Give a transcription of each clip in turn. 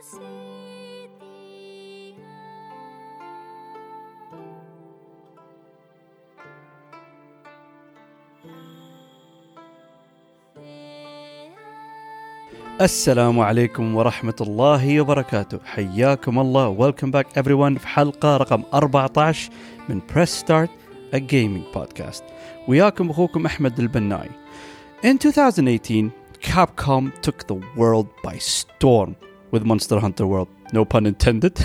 السلام عليكم ورحمة الله وبركاته. حياكم الله. Welcome back everyone في حلقة رقم 14 من Press Start, a gaming podcast. وياكم أخوكم أحمد البناي. In 2018, Capcom took the world by storm with Monster Hunter World. No pun intended.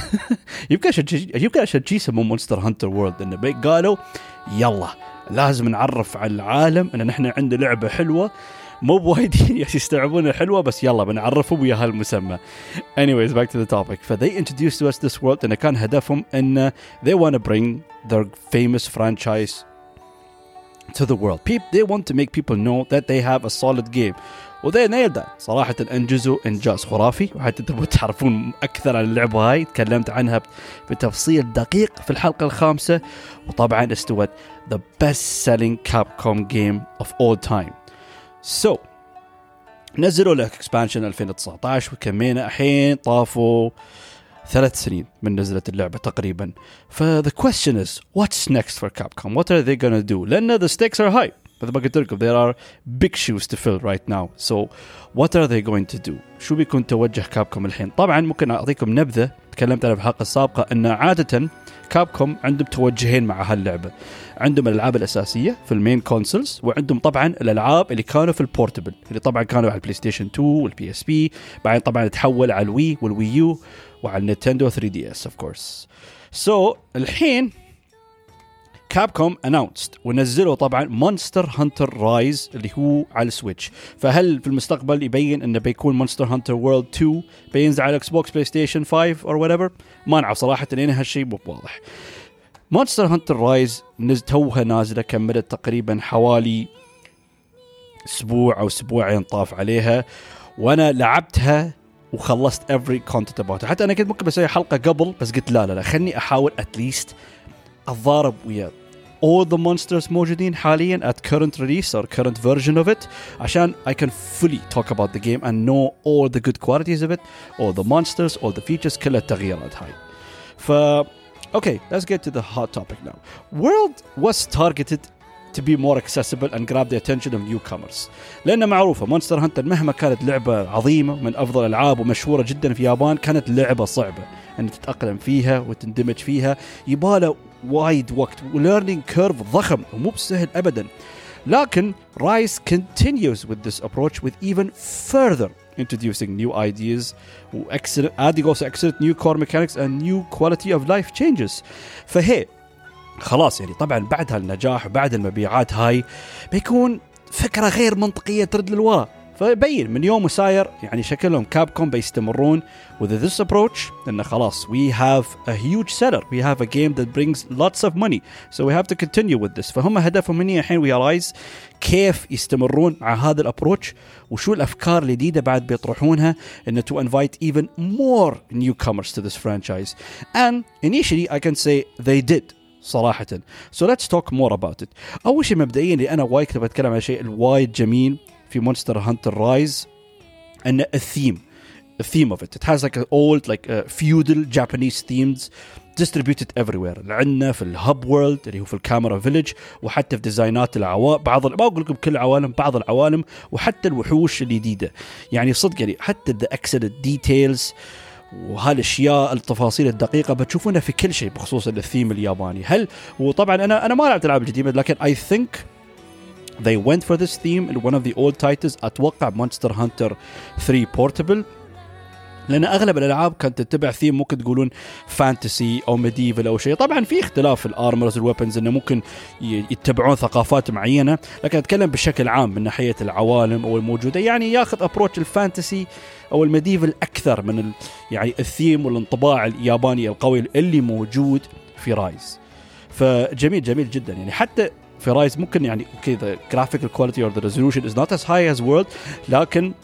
يبقى شيء يسموه Monster Hunter World. إنه قالوا يلا لازم نعرف على العالم إن نحن عندنا لعبة حلوة. مو بوايدين يستوعبون الحلوة بس يلا بنعرفهم ويا هالمسمى. Anyways, back to the topic. They introduced to us this world إن كان هدفهم إن they want to bring their famous franchise to the world. They want to make people know that they have a solid game. وذي nailed that. صراحة أنجزوا إنجاز خرافي. وحتى تبغوا تعرفون أكثر عن اللعبة هاي تكلمت عنها بتفصيل دقيق في الحلقة 5. وطبعا استوت the best selling Capcom game of all time. So نزلوا له expansion 2019 وكمينا الحين طافوا 3 سنين من نزلت اللعبة تقريبا. The question is, what's next for Capcom? What are they gonna do? لأن the stakes are high. مثل ما قلت لكم there are big shoes to fill right now. So what are they going to do? شو بيكون توجه كابكوم الحين؟ طبعا ممكن أعطيكم نبذة تكلمت أنا في الحلقة السابقة أن عادة كابكوم عندهم توجهين مع هاللعبة. عندهم الألعاب الأساسية في المين كونسولز وعندهم طبعا الألعاب اللي كانوا في البورتبل اللي طبعا كانوا على البلاي ستيشن 2 والبي اس بي. بعدين طبعا تحول على الوي والوي يو وعلى النينتندو 3DS of course. So الحين كابكوم announced ونزلوا طبعا مونستر هانتر رايز اللي هو على السويتش. فهل في المستقبل يبين انه بيكون مونستر هانتر وورلد 2 بينزل على اكس بوكس بلاي ستيشن 5 or whatever؟ ما نعرف صراحة لأن هالشيء مو واضح. مونستر هانتر رايز توها نازلة كملت تقريبا حوالي اسبوع او اسبوعين طاف عليها وانا لعبتها وخلصت every content about. حتى انا كنت ممكن بسوي حلقة قبل بس قلت لا خلني احاول at least الضارب ويا all the monsters موجودين حاليا at current release or current version of it عشان I can fully talk about the game and know all the good qualities of it, all the monsters, all the features, كل التغييرات هاي. Okay, let's get to the hot topic now. World was targeted to be more accessible and grab the attention of newcomers. لأن معروفة مونستر هانتر مهما كانت لعبة عظيمة من أفضل الألعاب ومشهورة جدا في اليابان كانت لعبة صعبة أن تتأقلم فيها وتندمج فيها. يباله وايد وقت learning curve ضخم ومو بسهل أبدا. لكن Rise continues with this approach with even further introducing new ideas adding also excellent new core mechanics and new quality of life changes. فهي خلاص يعني طبعا بعد هالنجاح وبعد المبيعات هاي بيكون فكرة غير منطقية ترد للوراء. فبين من يوم وساير يعني شكلهم كابكوم بيستمرون with this approach لأن خلاص we have a huge seller, we have a game that brings lots of money, so we have to continue with this. فهم هدفهم هنا الحين realize كيف يستمرون مع هذا الابروتش وشو الأفكار الجديدة بعد بيطرحونها إن to invite even more newcomers to this franchise. And initially I can say they did صراحة. So let's talk more about it. أول شيء مبدئيا اللي أنا وايد كنت بتكلم عن شيء الوايد جميل في Monster Hunter Rise and the theme of it. It has like an old feudal Japanese themes distributed everywhere. عندنا في الهب وورلد اللي هو في الكاميرا فيليج وحتى في ديزاينات العوالم ما أقول لكم كل العوالم بعض العوالم وحتى الوحوش الجديدة يعني صدق يعني حتى the excellent details وهالاشياء التفاصيل الدقيقه بتشوفونها في كل شيء بخصوص الثيم الياباني. وطبعا انا ما لعبت العاب جديده لكن I think they went for this theme in one of the old titles. اتوقع Monster Hunter 3 Portable لأن أغلب الألعاب كانت تتبع ثيم ممكن تقولون فانتسي أو ميديفل أو شيء. طبعا في اختلاف في الارمرز والويبنز إنه ممكن يتبعون ثقافات معينة لكن أتكلم بشكل عام من ناحية العوالم أو الموجودة يعني ياخذ أبروتش الفانتسي أو الميديفل أكثر من يعني الثيم والانطباع الياباني القوي اللي موجود في رايز. فجميل جميل جدا يعني حتى في رايز ممكن يعني كذا graphical quality or the resolution is not as high as world لكن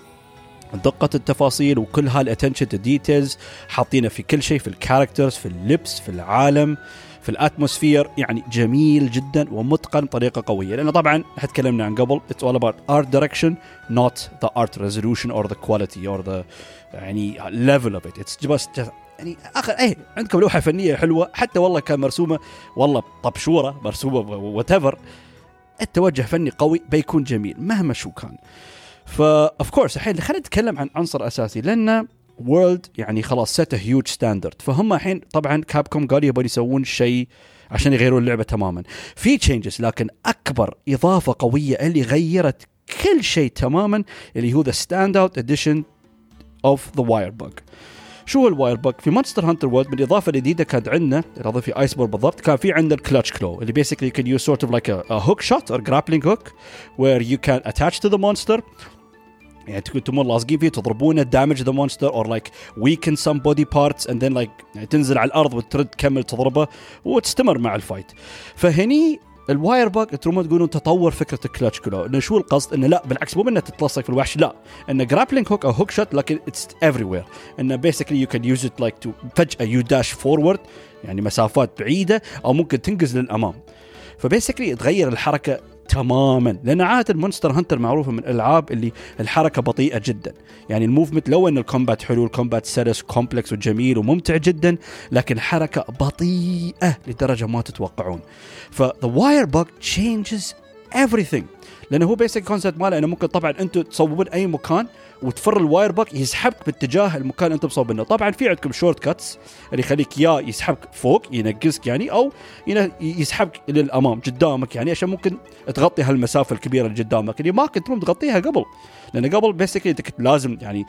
دقة التفاصيل وكل هالاتنشن تو ديتيلز حاطينه في كل شيء في الكاركترز في اللبس في العالم في الاتموسفير يعني جميل جدا ومتقن بطريقه قويه. لانه طبعا تكلمنا عن قبل it's all about art direction not the art resolution or the quality or the يعني level of it. it's just يعني اخر عندكم لوحه فنيه حلوه حتى والله كان مرسومه والله طبشوره مرسومه whatever، التوجه فني قوي بيكون جميل مهما شو كان. فاوف كورس الحين خلينا نتكلم عن عنصر اساسي، لان وورلد يعني خلاص set a huge standard. فهم الحين طبعا كابكوم قالوا يبغوا يسوون شيء عشان يغيرون اللعبه تماما في changes، لكن اكبر اضافه قويه اللي غيرت كل شيء تماما اللي هو the standout edition of the Wirebug. شو هو الواير بug؟ في مونستر هانتر وورلد من الإضافة الجديدة كانت عندنا الإضافة في آيسبورغ بالضبط، كان في عندنا الكلتش كلو اللي basically you can use sort of like a hook shot or grappling hook where you can attach to the monster، يعني تكونوا لاصقين فيه تضربونه damage the monster or like weaken some body parts and then like يعني تنزل على الأرض وترد تكمل تضربه وتستمر مع الفايت. فهني الواير باك ترومون تقولون تطور فكره الكلتش كلو، انه شو القصد؟ انه لا بالعكس مو انه تتلصق في الوحش، لا انه جرابلينج هوك او هوك شوت لكن اتس everywhere، انه بيسكلي يو كان يوز ات لايك تو فجاه يو داش فورورد يعني مسافات بعيده او ممكن تنقز للامام. فبيسكلي تغير الحركه تماما، لان عاده المونستر هانتر معروفه من الالعاب اللي الحركه بطيئه جدا، يعني الموفمنت لو ان الكومبات حلو الكومبات سلس كومبلكس وجميل وممتع جدا، لكن الحركه بطيئه لدرجه ما تتوقعون. ف the wire bug changes everything، لانه هو بيسك كونسبت ماله انه ممكن طبعا انتم تصوبون اي مكان وتفر الواير باك يسحبك باتجاه المكان انت مصوبينه. طبعا في عندكم شورت كاتس اللي يخليك يا يسحبك فوق ينقزك يعني، او يسحبك للامام قدامك يعني عشان ممكن تغطي هالمسافه الكبيره اللي قدامك اللي ما كنت تغطيها قبل، لان قبل بيسكلي انت كنت لازم يعني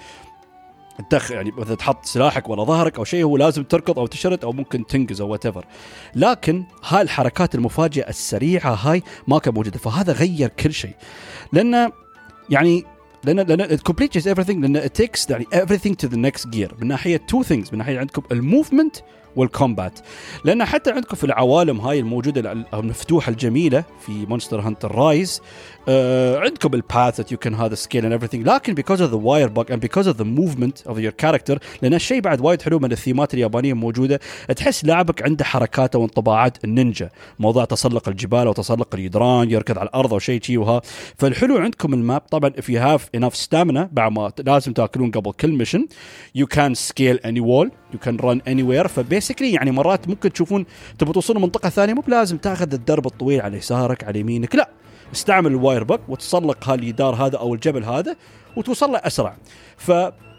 يعني مثلا تحط سلاحك ولا ظهرك او شيء هو لازم تركض او تشرد او ممكن تنقز او whatever، لكن هاي الحركات المفاجئه السريعه هاي ما كانت موجوده. فهذا غير كل شيء، لان يعني لان it completes everything، لان it takes يعني everything to the next gear من ناحيه two things، من ناحيه عندكم الموفمنت والكومبات، لأن حتى عندكم في العوالم هاي الموجودة المفتوحة الجميلة في مونستر هانتر رايز عندكم الباث that you can have the skill and everything، لكن because of the wire bug and because of the movement of your character، لأن الشيء بعد وايد حلو من الثيمات اليابانية موجودة، تحس لاعبك عنده حركاته وانطباعات النينجا، موضوع تسلق الجبال وتسلق الجدران يركض على الأرض أو شيء وها. فالحلو عندكم الماب طبعا if you have enough stamina بعد ما لازم تأكلون قبل كل mission you can scale any wall you can run anywhere. فبيسكلي يعني مرات ممكن تشوفون تبغوا توصلوا منطقة ثانية مو بلازم تاخذ الدرب الطويل على يسارك على يمينك، لا استعمل الواير بق وتسلق هالجدار هذا أو الجبل هذا وتوصل له أسرع. ف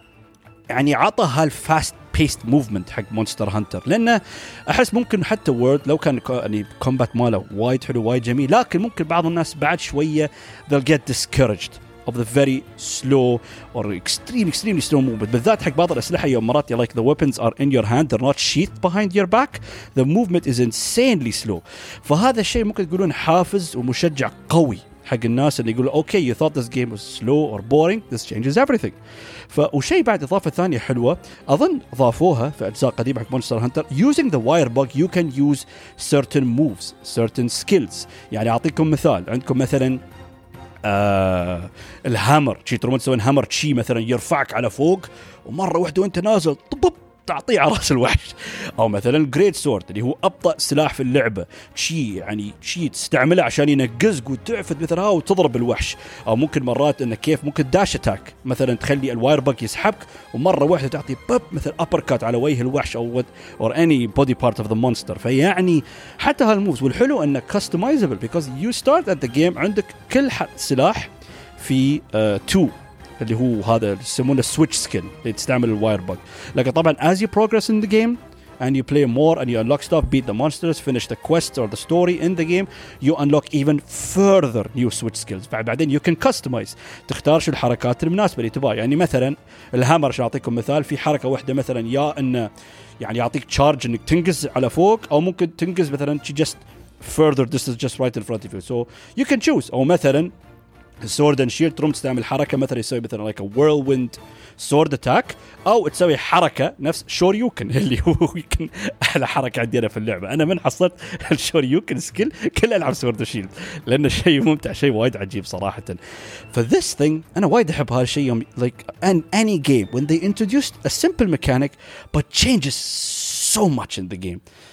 يعني عطى هالفاست بيست موفمنت حق مونستر هانتر، لأنه أحس ممكن حتى وورد لو كان يعني كومبات ماله وايد حلو وايد جميل، لكن ممكن بعض الناس بعد شوية they'll get discouraged of the very slow or extremely slow movement، بالذات حق بعض الأسلحة يوم مرات like the weapons are in your hand they're not sheathed behind your back the movement is insanely slow. فهذا الشيء ممكن تقولون حافز ومشجع قوي حق الناس اللي يقولوا okay you thought this game was slow or boring this changes everything. وشيء بعد إضافة ثانية حلوة أظن ضافوها في أجزاء قديمة حق مونستر هانتر using the wire bug you can use certain moves certain skills. يعني أعطيكم مثال، عندكم مثلا الهامر شي ترمون تسوين هامر شي مثلا يرفعك على فوق ومرة واحدة وانت نازل طب تعطيه على راس الوحش، او مثلا الجريت سورد اللي هو ابطأ سلاح في اللعبة شي يعني شي تستعمله عشان ينقزك وتعفد مثلا وتضرب الوحش، او ممكن مرات انه كيف ممكن داش اتاك مثلا تخلي الواير باك يسحبك ومرة واحدة تعطي بب مثل ابر كات على وجه الوحش او or any body part of the monster. فيعني حتى هالموفز والحلو انه customizable because you start at the game عندك كل سلاح في 2 اللي هو هذا يسمونه switch skill اللي تستعمل الواير باج، لكن طبعا as you progress in the game and you play more and you unlock stuff beat the monsters finish the quests or the story in the game you unlock even further new switch skills. بعدين you can customize تختار شو الحركات المناسبة اللي تبغاها. يعني مثلا الهامر عشان أعطيكم مثال في حركة واحدة مثلا يا إنه يعني يعطيك charge إنك تنقز على فوق أو ممكن تنقز مثلا just further distance just right in front of you so you can choose. أو مثلا sword and shield تروم تستعمل حركة مثلا يسوي مثلا like a whirlwind sword attack أو تسوي حركة نفس شوريوكن اللي هو يمكن أحلى حركة عندنا في اللعبة. أنا من حصلت الشوريوكن سكيل كل ألعب sword and shield لأنه شيء ممتع شيء وايد عجيب صراحة. this thing أنا وايد أحب هالشيء like in any game when they introduced a simple mechanic but changes so much in the game.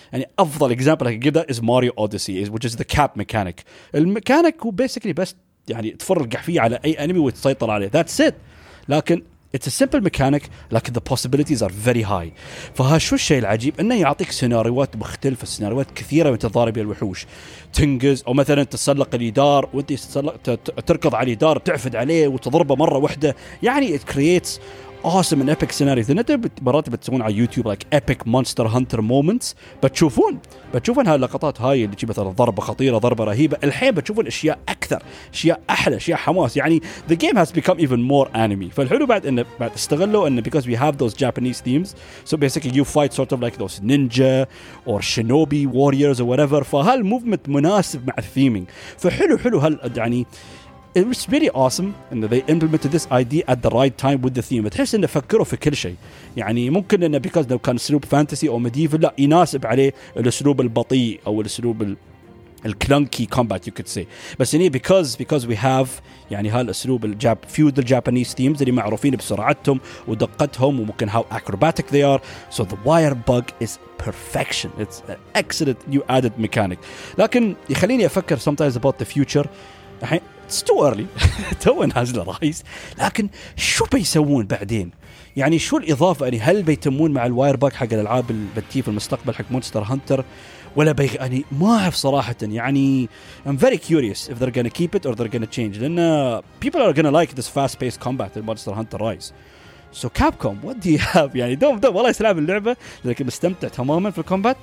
يعني افضل اكزامبل I can give that is Mario Odyssey which is the cap mechanic. الميكانيك هو basically بس يعني تفرق فيه على اي انمي وتسيطر عليه, that's it. لكن it's a simple mechanic لكن the possibilities are very high. فها شو الشيء العجيب انه يعطيك سيناريوهات مختلفه, سيناريوهات كثيره من تضارب بها الوحوش, تنقز او مثلا تسلق الجدار وانت تركض على الجدار تعفد عليه وتضربه مره واحده, يعني it creates awesome and epic scenarios. لأن أنت مرات بتسوون على يوتيوب like epic monster hunter moments, بتشوفون هاللقطات هاي اللي مثلا ضربة خطيرة, ضربة رهيبة. الحين بتشوفون أشياء أكثر, أشياء أحلى, أشياء حماس. يعني the game has become even more anime. فالحلو بعد إنه بعد استغلوا إنه because we have those Japanese themes, so basically you fight sort of like those ninja or shinobi warriors or whatever. فهالmovement مناسب مع الثيمينج. فحلو هال يعني it was really awesome and they implemented this idea at the right time with the theme. تحس إنه فكروا في كل شيء. يعني ممكن إنه because لو كان أسلوب فانتسي أو medieval لا يناسب عليه الأسلوب البطيء أو الأسلوب الكلانكي combat you could say. بس هني because we have يعني هالأسلوب feudal Japanese themes اللي معروفين بسرعتهم ودقتهم وممكن how acrobatic they are. So the wire bug is perfection. It's an excellent new added mechanic. لكن يخليني أفكر sometimes about the future. الحين it's too early تو نازل رايز, لكن شو بيسوون بعدين؟ يعني شو الإضافة؟ يعني هل بيتمون مع الواير باك حق الألعاب اللي بتجي في المستقبل حق مونستر هانتر ولا يعني ما أعرف صراحة. يعني I'm very curious if they're gonna keep it or they're gonna change, لأن people are gonna like this fast-paced combat in Monster Hunter Rise. So Capcom, what do you have? يعني دوم والله يسلام اللعبة, لكن مستمتع تماما في الكومبات.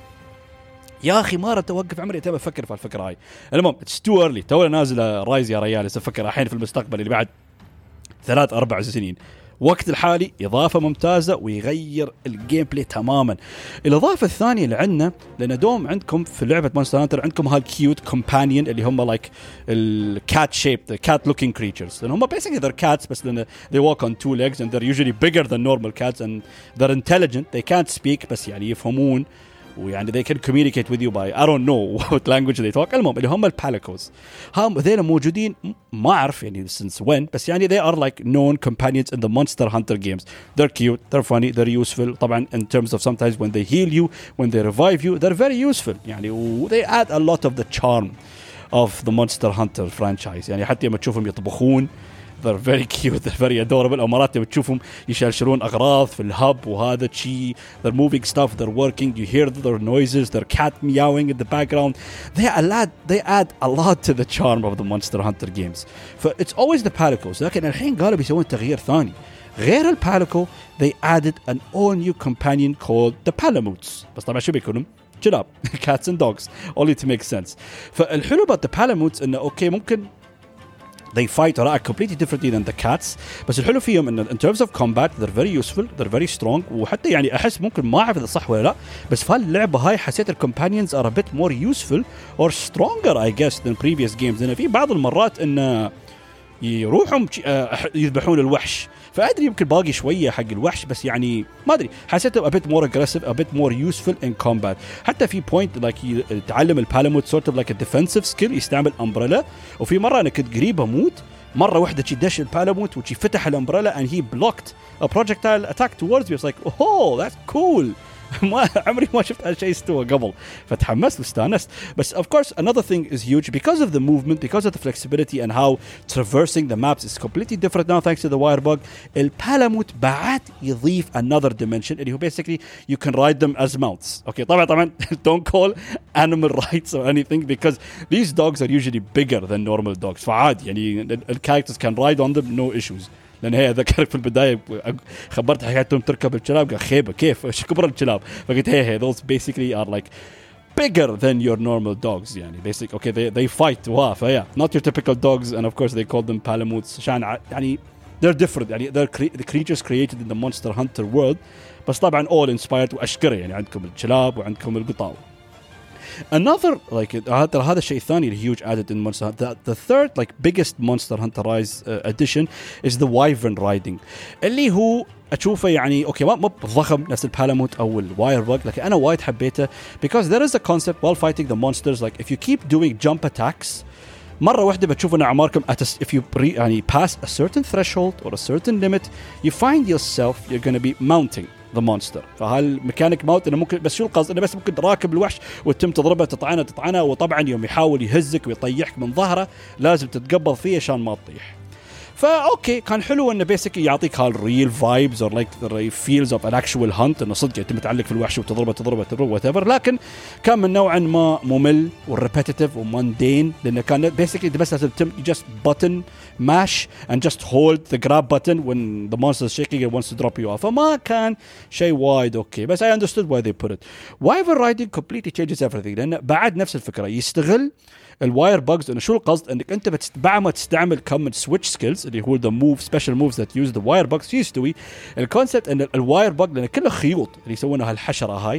يا أخي ما رأيت أوقف عمري أتابع أفكر في الفكرة هاي. المهم it's too early, تونا نازل رايز يا ريال, أفكر الحين في المستقبل اللي بعد 3-4 سنين. وقت الحالي إضافة ممتازة ويغير الجيم بلاي تماما. الإضافة الثانية اللي عندنا, لأن دوم عندكم في لعبة مونستر هانتر عندكم هالكيوت كومبانيون اللي هم like الكات shaped cat looking creatures, لأن هم basically they're cats بس لأن they walk on 2 legs and they're usually bigger than normal cats and they're intelligent, they can't speak بس يعني يفهمون ويعني they can communicate with you by I don't know what language they talk. المهم اللي هم الباليكوز, هم ذيلا موجودين ما أعرف يعني since when, بس يعني they are like known companions in the Monster Hunter games. They're cute, they're funny, they're useful. طبعا in terms of sometimes when they heal you, when they revive you, they're very useful. يعني they add a lot of the charm of the Monster Hunter franchise. يعني حتى لما تشوفهم يطبخون they're very cute, they're very adorable. أو مرات بتشوفهم يشلشلون أغراض في الهب وهذا شيء, they're moving stuff, they're working, you hear their noises, their cat meowing in the background. They add a lot to the charm of the Monster Hunter games. It's always the Palicos. لكن الحين قالوا بيسوون تغيير ثاني غير الباليكو. They added an all new companion called the Palamutes. بس طبعا شو بيكونوا؟ كلاب cats and dogs, only to make sense. فالحلو about the Palamutes إنه أوكي ممكن they fight or act completely differently than the cats, بس الحلو فيهم إن in terms of combat they're very useful, they're very strong. وحتى يعني أحس ممكن ما أعرف إذا صح ولا لا, بس في اللعبة هاي حسيت companions are a bit more useful or stronger I guess than previous games. لأن في بعض المرات إن يروحهم يذبحون الوحش, فأدري يمكن باقي شوية حق الوحش, بس يعني ما أدري حسيته a bit more aggressive, a bit more useful in combat. حتى في point like يتعلم البالاموت sort of like a defensive skill, يستعمل umbrella. وفي مرة أنا كنت قريب أموت, مرة واحدة شي دش البالاموت وشي فتح الامبريلا and he blocked a projectile attack towards me. It's like oh that's cool. ما عمري ما شفت هالشيء استوى قبل, فتحمست واستانست. بس of course another thing is huge because of the movement, because of the flexibility and how traversing the maps is completely different now thanks to the wire bug. البالاموت بعد يضيف another dimension اللي هو basically you can ride them as mounts. Okay, طبعا don't call animal rights or anything because these dogs are usually bigger than normal dogs. فعادي يعني characters can ride on them no issues. لأن هي ذكرك في البداية خبرت حياتهم تركب الكلاب, قال خيبة كيف ايش كبر الكلاب, فقلت هي those basically are like bigger than your normal dogs. يعني basic okay they fight فيا not your typical dogs and of course they call them palamutes عشان يعني they're different. يعني they're the creatures created in the Monster Hunter world, بس طبعا all inspired وأشكره. يعني عندكم الكلاب وعندكم القطاو. Another like هذا الشيء الثاني اللي huge added in Monster Hunter. The third like biggest Monster Hunter Rise addition is the Wyvern riding, اللي هو أشوفه يعني أوكي ما ضخم نفس البالاموت أو الواير بug, لكن أنا وايد حبيته because there is a concept while fighting the monsters like if you keep doing jump attacks مرة واحدة بتشوف أن أعماركم if you يعني pass a certain threshold or a certain limit you find yourself you're going to be mounting the monster. فهالميكانيك مالت انه ممكن بس شو القصد انه بس ممكن راكب الوحش وتتم تضربه تطعنه وطبعا يوم يحاول يهزك ويطيحك من ظهره لازم تتقبض فيه عشان ما تطيح. فاوكي كان حلو انه بيسكلي يعطيك هالريل فايبز اور لايك ذا فيلز اوف ان اكشوال هانت انه صدق انت متعلق في الوحش وتضربه وات ايفر. لكن كان من نوعا ما ممل وريبيتيتيف وماندين لانه كان بيسكلي بس لازم جست بutton mash and just hold the grab button when the monster is shaking and wants to drop you off. فما كان شيء وايد اوكي بس I understood why they put it. Wyvern riding completely changes everything لانه بعد نفس الفكره يستغل الواير باجز. انه شو القصد انك انت بعد ما تستعمل كم سويتش سكيلز اللي هو ذا موف سبيشال موفز ذات يوز ذا واير باجز يستوي الكونسبت ان الواير باج لان كله خيوط اللي يسوونها هالحشره هاي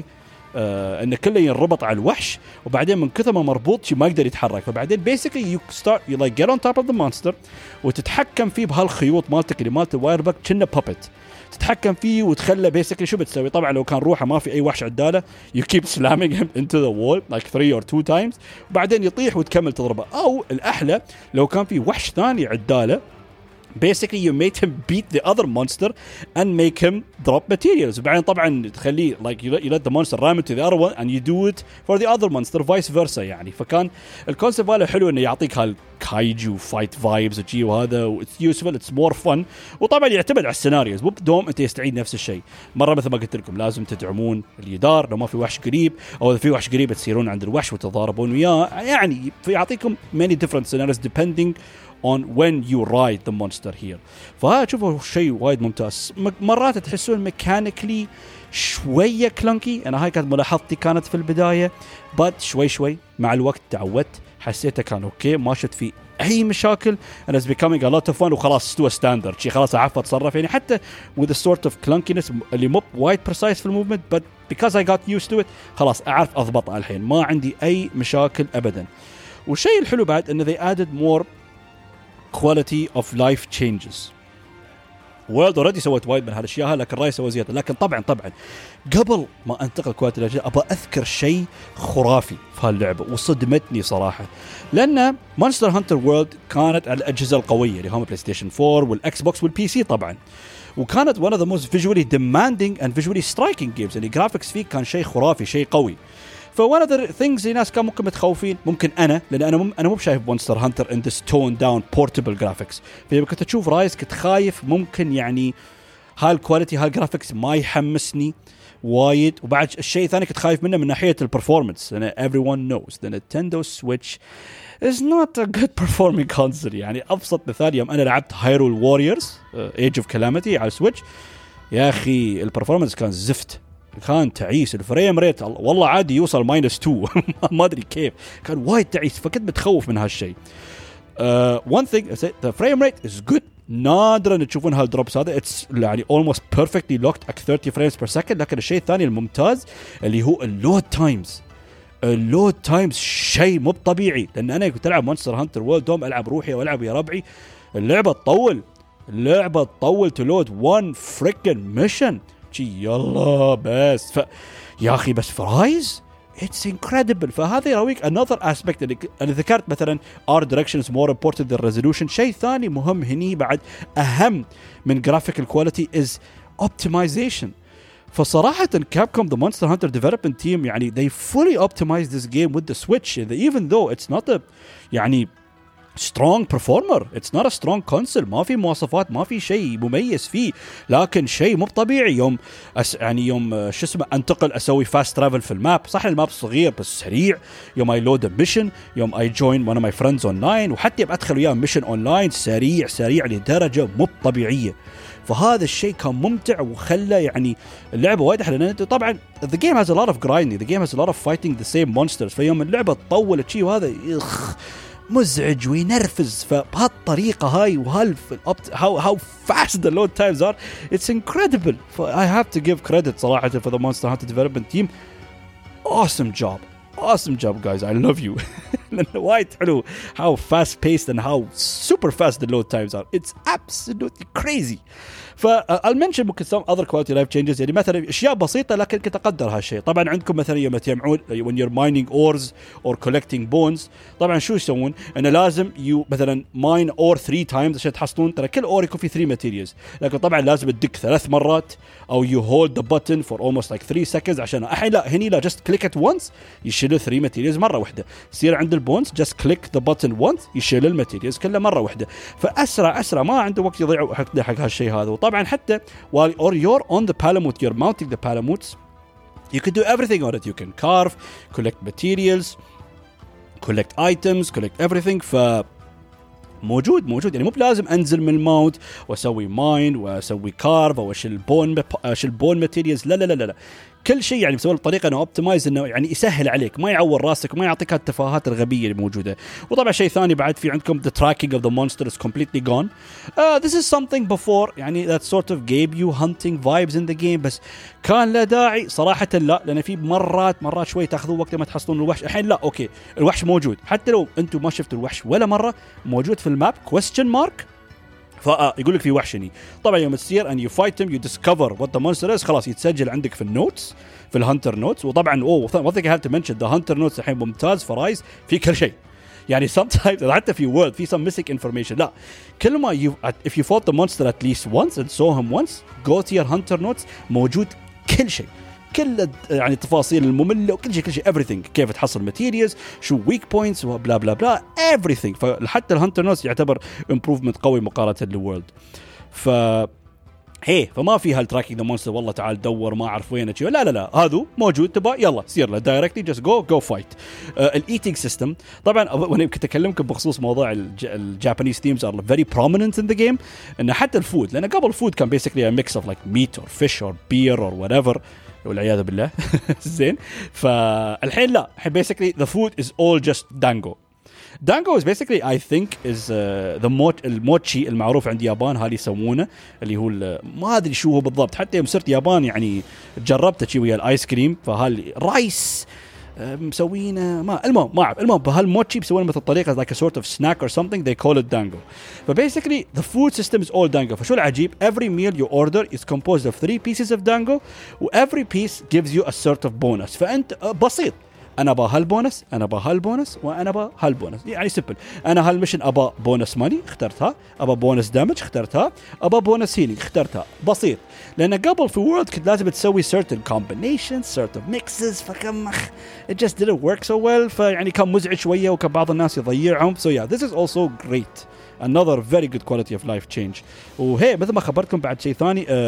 ان كله ينربط على الوحش وبعدين من كثر ما مربوط ما يقدر يتحرك. فبعدين basically you start you like get on top of the monster وتتحكم فيه بهالخيوط مالتك اللي مالت الواير باج كأنه puppet تتحكم فيه وتخلى basically شو بتسوي. طبعا لو كان روحه ما في اي وحش عداله you keep slamming him into the wall like 3 or 2 times وبعدين يطيح وتكمل تضربه. او الاحلى لو كان في وحش ثاني عداله basically you made him beat the other monster and make him drop materials. وبعدين طبعا تخليه like you let the monster ram into the other one and you do it for the other monster vice versa يعني. فكان الكونسيبت ماله حلو انه يعطيك هالكايجو فايت فايبز وجي وهذا it's useful it's more fun. وطبعا يعتمد على السيناريوز مو بدوم انت يستعيد نفس الشيء. مره مثل ما قلت لكم لازم تدعمون الجدار لو ما في وحش قريب او اذا في وحش قريب تصيرون عند الوحش وتضاربون وياه يعني يعطيكم many different scenarios depending on when you ride the monster here. فهذا شوفوا شيء وايد ممتاز. مرات تحسون ميكانيكلي شوية كلانكي أنا هاي كانت ملاحظتي كانت في البداية but شوي مع الوقت تعودت حسيته كان أوكي ما شفت فيه أي مشاكل and it's becoming a lot of fun وخلاص استوى ستاندرد شيء خلاص أعرف أتصرف يعني حتى with a sort of clunkiness اللي مو وايد precise في الموفمنت but because I got used to it خلاص أعرف أضبطها الحين ما عندي أي مشاكل أبدا. والشيء الحلو بعد إنه they added more quality of life changes. وورلد اوريدي سوت وايد من هالاشياء لكن راي سوى زياده. لكن طبعا قبل ما انتقل كواليتي الاجزاء ابى اذكر شيء خرافي في هاللعبه وصدمتني صراحه لان مونستر هانتر وورلد كانت على الاجهزه القويه اللي هم بلاي ستيشن 4 والاكس بوكس والبي سي طبعا وكانت one of the most visually demanding and visually striking games يعني جرافيكس فيه كان شيء خرافي شيء قوي. فone of the things الناس كان ممكن متخوفين ممكن لأن أنا مو بشايف مونستر هانتر in this toned down portable graphics. فلما كنت أشوف رايز كنت خايف ممكن يعني هالكواليتي هالجرافيكس ما يحمسني وايد. وبعد الشيء الثاني كنت خايف منه من ناحية البرفورمانس لأن everyone knows the Nintendo Switch is not a good performing console. يعني أبسط مثال يوم أنا لعبت Hyrule Warriors Age of Calamity على السويتش يا أخي البرفورمانس كان زفت كان تعيس الفريم ريت والله عادي يوصل -2 ما أدري كيف كان وايد تعيس. فكنت متخوف من هالشيء. one thing the frame rate is good نادرا تشوفون هالدروبس هذا it's يعني almost perfectly locked at 30 frames per second. لكن الشيء الثاني الممتاز اللي هو اللود تايمز شيء مو طبيعي لأن أنا كنت ألعب مونستر هانتر وورلد دوم ألعب روحي وألعب يا ربعي اللعبة تطول تلود one freaking mission يلا بس يا أخي بس فرايز it's incredible. فهذا يراويك another aspect اللي أنا ذكرت مثلا art direction is more important than resolution. شيء ثاني مهم هني بعد أهم من graphical quality is optimization. فصراحة Capcom the Monster Hunter development team يعني they fully optimized this game with the Switch even though it's not a يعني strong performer it's not a strong console ما في مواصفات ما في شيء مميز فيه لكن شيء مو طبيعي. يوم يعني يوم شو اسمه انتقل اسوي فاست ترافل في الماب صح الماب صغير بس سريع يوم اي لود ميشن يوم اي جوين one of my friends online وحتى ادخل وياه ميشن اونلاين سريع لدرجة مو طبيعية. فهذا الشيء كان ممتع وخلى يعني اللعبة وايد أحلى لأن طبعا the game has a lot of grinding the game has a lot of fighting the same monsters. فيوم اللعبة تطولت شيء وهذا مزعج وينرفز. فبهالطريقة هاي how fast the load times are it's incredible. I have to give credit صراحة for the Monster Hunter development team. Awesome job guys I love you. وايد حلو how fast paced and how super fast the load times are. It's absolutely crazy. I'll mention ممكن some other quality life changes. يعني مثلا اشياء بسيطه لكن كنت اقدر هالشيء. طبعا عندكم مثلا يوم تجمعون when you're mining ores or collecting bones, طبعا شو يسوون؟ انه لازم مثلا mine ore 3 times عشان تحصلون. ترى كل ore يكون فيه 3 materials, لكن طبعا لازم تدق 3 مرات او you hold the button for almost like 3 seconds عشان الحين لا هني لا just click it once يشيلوا 3 materials مره واحده. يصير عند البونز just click the button once يشيل الماتيريالز كلها مره واحده. فاسرع ما عنده وقت يضيع حق هالشيء هذا. وطبعا حتى while you're on the palamute, you're mounting the palamutes, you can do everything on it. You can carve, collect materials, collect items, collect everything. موجود يعني مو بلازم انزل من الماونت واسوي ماين واسوي كارف او اشيل بون ماتيريالز. لا كل شيء يعني مسوي بطريقه انه اوبتمايز, انه يعني يسهل عليك, ما يعور راسك وما يعطيك هالتفاهات الغبيه اللي موجوده. وطبعا شيء ثاني بعد في عندكم the tracking of the monster is completely gone. This is something before يعني that sort of gave you hunting vibes in the game, بس كان لا داعي صراحه. لا, لان في مرات شوي تاخذون وقت ما تحصلون الوحش. الحين لا اوكي الوحش موجود, حتى لو انتم ما شفتوا الوحش ولا مره موجود في الماب question mark. يقول لك في وحش هني. طبعا يوم تصير and you fight him you discover what the monster is, خلاص يتسجل عندك في النوتس, في الهانتر نوتس. وطبعا one thing I have to mention, the hunter notes الحين ممتاز في رايز في كل شيء. يعني sometimes حتى في word في some missing information, لا كل ما if you fought the monster at least once and saw him once, go to your hunter notes موجود كل شيء, كل يعني التفاصيل المملة وكل شيء everything, كيف تحصل materials, شو weak points وبلا بلا بلا everything. فحتى الهانتر نوتس يعتبر improvement قوي مقارنة للورلد. فما في هالتراكينج ذا مونستر والله تعال دور ما اعرف وين لا لا لا, هذا موجود تبا يلا سير له دايركتلي جست جو فايت. الايتينج سيستم طبعا وانا كنت اكلمكم بخصوص موضوع الجابانيز ثيمز ار فيري prominent in the game, انه حتى الفود, لان قبل الفود كان basically a mix of like meat or fish or beer or whatever والعياذ بالله. زين, فالحين لا, الحين basically the food is all just dango. Dango is basically I think is الموتشي المعروف عند اليابان, هالي يسمونه اللي هو ما أدري شو هو بالضبط. حتى يوم صرت يابان يعني جربته شيء ويا الآيس كريم, فهالي رايس مسوينه ما أعرف. المهم بهالموتشي بيسوونه مثل طريقة like a sort of snack or something, they call it dango. But basically the food system is all dango. فشو العجيب, every meal you order is composed of 3 pieces of dango, every piece gives you a sort of bonus. فأنت بسيط, أنا أبا هالبونس, أنا أبا هالبونس, وأنا أبا هالبونس. يعني سيمبل, أنا هالمشن أبا بونس ماني اخترتها, أبا بونس دامج اخترتها, أبا بونس هيلينج اخترتها. بسيط, لأن قبل في وورلد كنت لازم تسوي certain combinations, certain mixes, فكم it just didn't work so well. فيعني كان مزعج شوية وكان بعض الناس يضيعهم. So yeah, this is also great, another very good quality of life change. وهي مثل ما خبرتكم بعد شيء ثاني,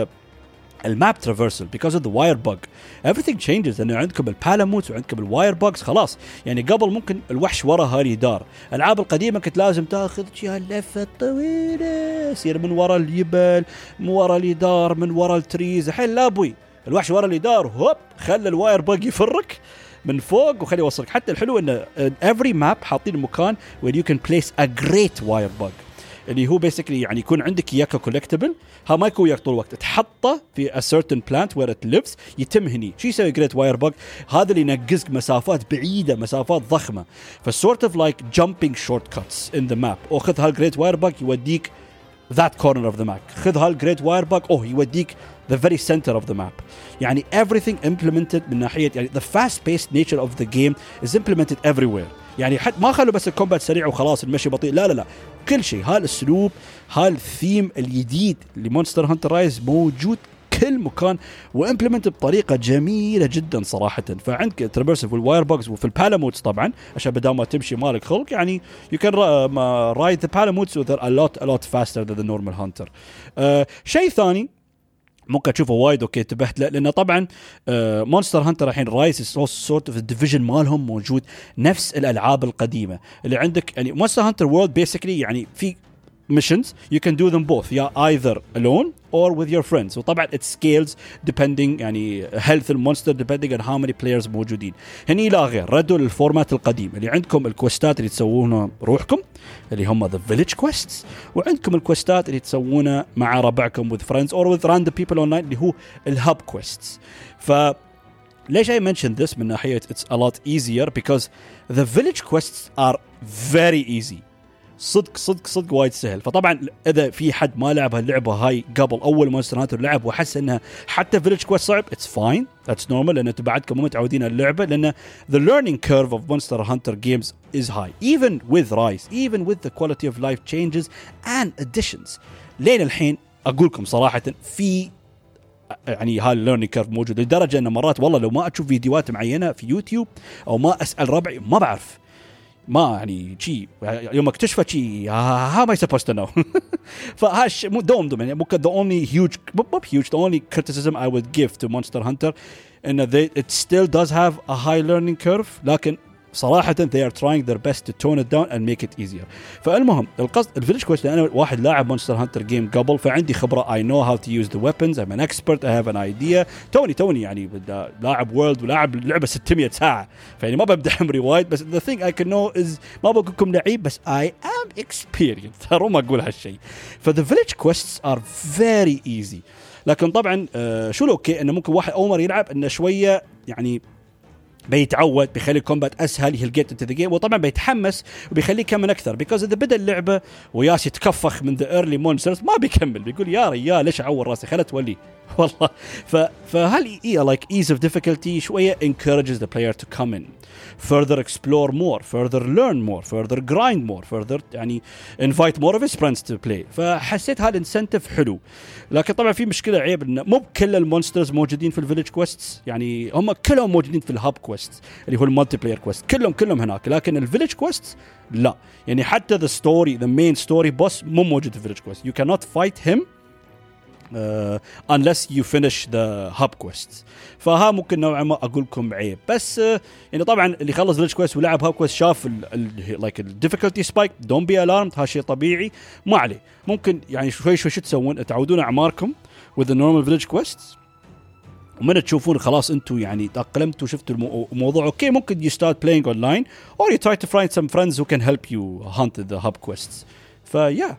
الماب ترافيرسل because of the wire bug everything changes. لأنه عندكم البالاموت وعندكم الواير bugs خلاص. يعني قبل ممكن الوحش ورا هالي دار, الألعاب القديمة كنت لازم تاخذ شيء اللفة طويلة, يصير من ورا الجبل, من ورا اليدار, من ورا التريز. الحين لا بوي, الوحش ورا اليدار هوب خلى الواير bug يفرك من فوق وخلي يوصلك. حتى الحلو إن every map حاطين مكان where you can place a great wire bug, اللي هو basically يعني يكون عندك إياك collectible, ها ما يكون وياك طول الوقت, تحطه في a certain plant where it lives, يتم هني. شو يسوي great wire bug؟ هذا اللي ينقزك مسافات بعيدة, مسافات ضخمة. sort of like jumping shortcuts in the map. أو خذ هالgreat wire bug يوديك that corner of the map, خذ هالgreat wire bug يوديك the very center of the map. يعني everything implemented من ناحية يعني the fast paced nature of the game is implemented everywhere. يعني حتى ما خلوا بس الكومبات سريع وخلاص المشي بطيء, لا كل شيء. هالاسلوب هالثيم الجديد لمونستر هانتر رايز موجود كل مكان وامبلمنت بطريقه جميله جدا صراحه. فعندك ترافيرسل والواير بوكس وفي البالاموتس طبعا عشان بدل ما تمشي مالك خلق, يعني you can ride the palamuts with a lot faster than the normal hunter. شيء ثاني ممكن تشوفه وايد اوكي انتبهت له, لانه طبعا مونستر هانتر الحين رايز سورت اوف الديفيجن مالهم موجود نفس الالعاب القديمه اللي عندك. يعني مونستر هانتر وورلد بيسكلي يعني في missions you can do them both, either alone or with your friends. وطبعا it scales depending يعني health المونستر depending on how many players موجودين. هني لا غير, ردوا للفورمات القديم اللي عندكم الكوستات اللي تسوونها روحكم اللي هم the village quests, وعندكم الكوستات اللي تسوونها مع ربعكم with friends or with random people online اللي هو الهاب quests. ليش I mentioned this من ناحية it's a lot easier because the village quests are very easy. صدق وايد سهل. فطبعا اذا في حد ما لعب هاللعبه هاي قبل اول مونستر هانتر لعب وحس انها حتى فيليج كويست صعب, it's fine, that's normal, لان انتم بعدكم مو متعودين على اللعبه, لان the learning curve of Monster Hunter games is high even with Rise, even with the quality of life changes and additions. لين الحين اقولكم صراحه في يعني هاي الليرنينج كيرف موجود لدرجه ان مرات والله لو ما اشوف فيديوهات معينه في يوتيوب او ما اسال ربعي ما بعرف, ما يعني شيء يوم اكتشفه شيء how am I supposed to know. فهاش مو دوم يعني ممكن the only huge the only criticism I would give to Monster Hunter in it still does have a high learning curve, لكن صراحة they are trying their best to tone it down and make it easier. فالمهم القصد الفيليج كويست, أنا واحد لاعب مونستر هانتر جيم قبل, فعندي خبرة, I know how to use the weapons, I'm an expert, I have an idea. توني يعني لاعب وورلد ولاعب لعبة 600 ساعة, فيعني ما ببدأ عمري وايد, بس the thing I can know is ما بقولكم لعيب, بس I am experienced. ترى ما أقول هالشيء. فthe village quests are very easy. لكن طبعا شو الأوكي إنه ممكن واحد أول مرة يلعب إنه شوية يعني بيتعود, بيخلي الكومبات اسهل, he'll get into the game, وطبعا بيتحمس وبيخليه يكمل اكثر, because اذا بدا اللعبه وياس يتكفخ من the early monsters ما بيكمل, بيقول يا ريال ليش اعور راسي, خلت تولي والله. فهل like ease of difficulty شويه encourages the player to come in, further explore more, further learn more, further grind more, further يعني invite more of his friends to play. فحسيت هالانسنتف حلو. لكن طبعا في مشكله عيب انه مو بكل المونسترز موجودين في الفيليج كويستس, يعني هم كلهم موجودين في الهاب كويست اللي هو المالتي بلاير كويست, كلهم هناك, لكن الفيليج كويست لا, يعني حتى the story, the main story boss مو موجود في الفيليج كويست. you cannot fight him unless you finish the hub quests. فها ممكن نوعا ما أقول لكم عيب, بس يعني طبعا اللي خلص village quest ولعب hub quest شاف like difficulty spike, don't be alarmed, هالشيء طبيعي ما عليه. ممكن يعني شوي شو تسوون, تعودون أعماركم with the normal village quests, ومن تشوفون خلاص أنتوا يعني تأقلمتوا شفتوا الموضوع أوكي, ممكن you start playing online or you try to find some friends who can help you hunt the hub quests. فيا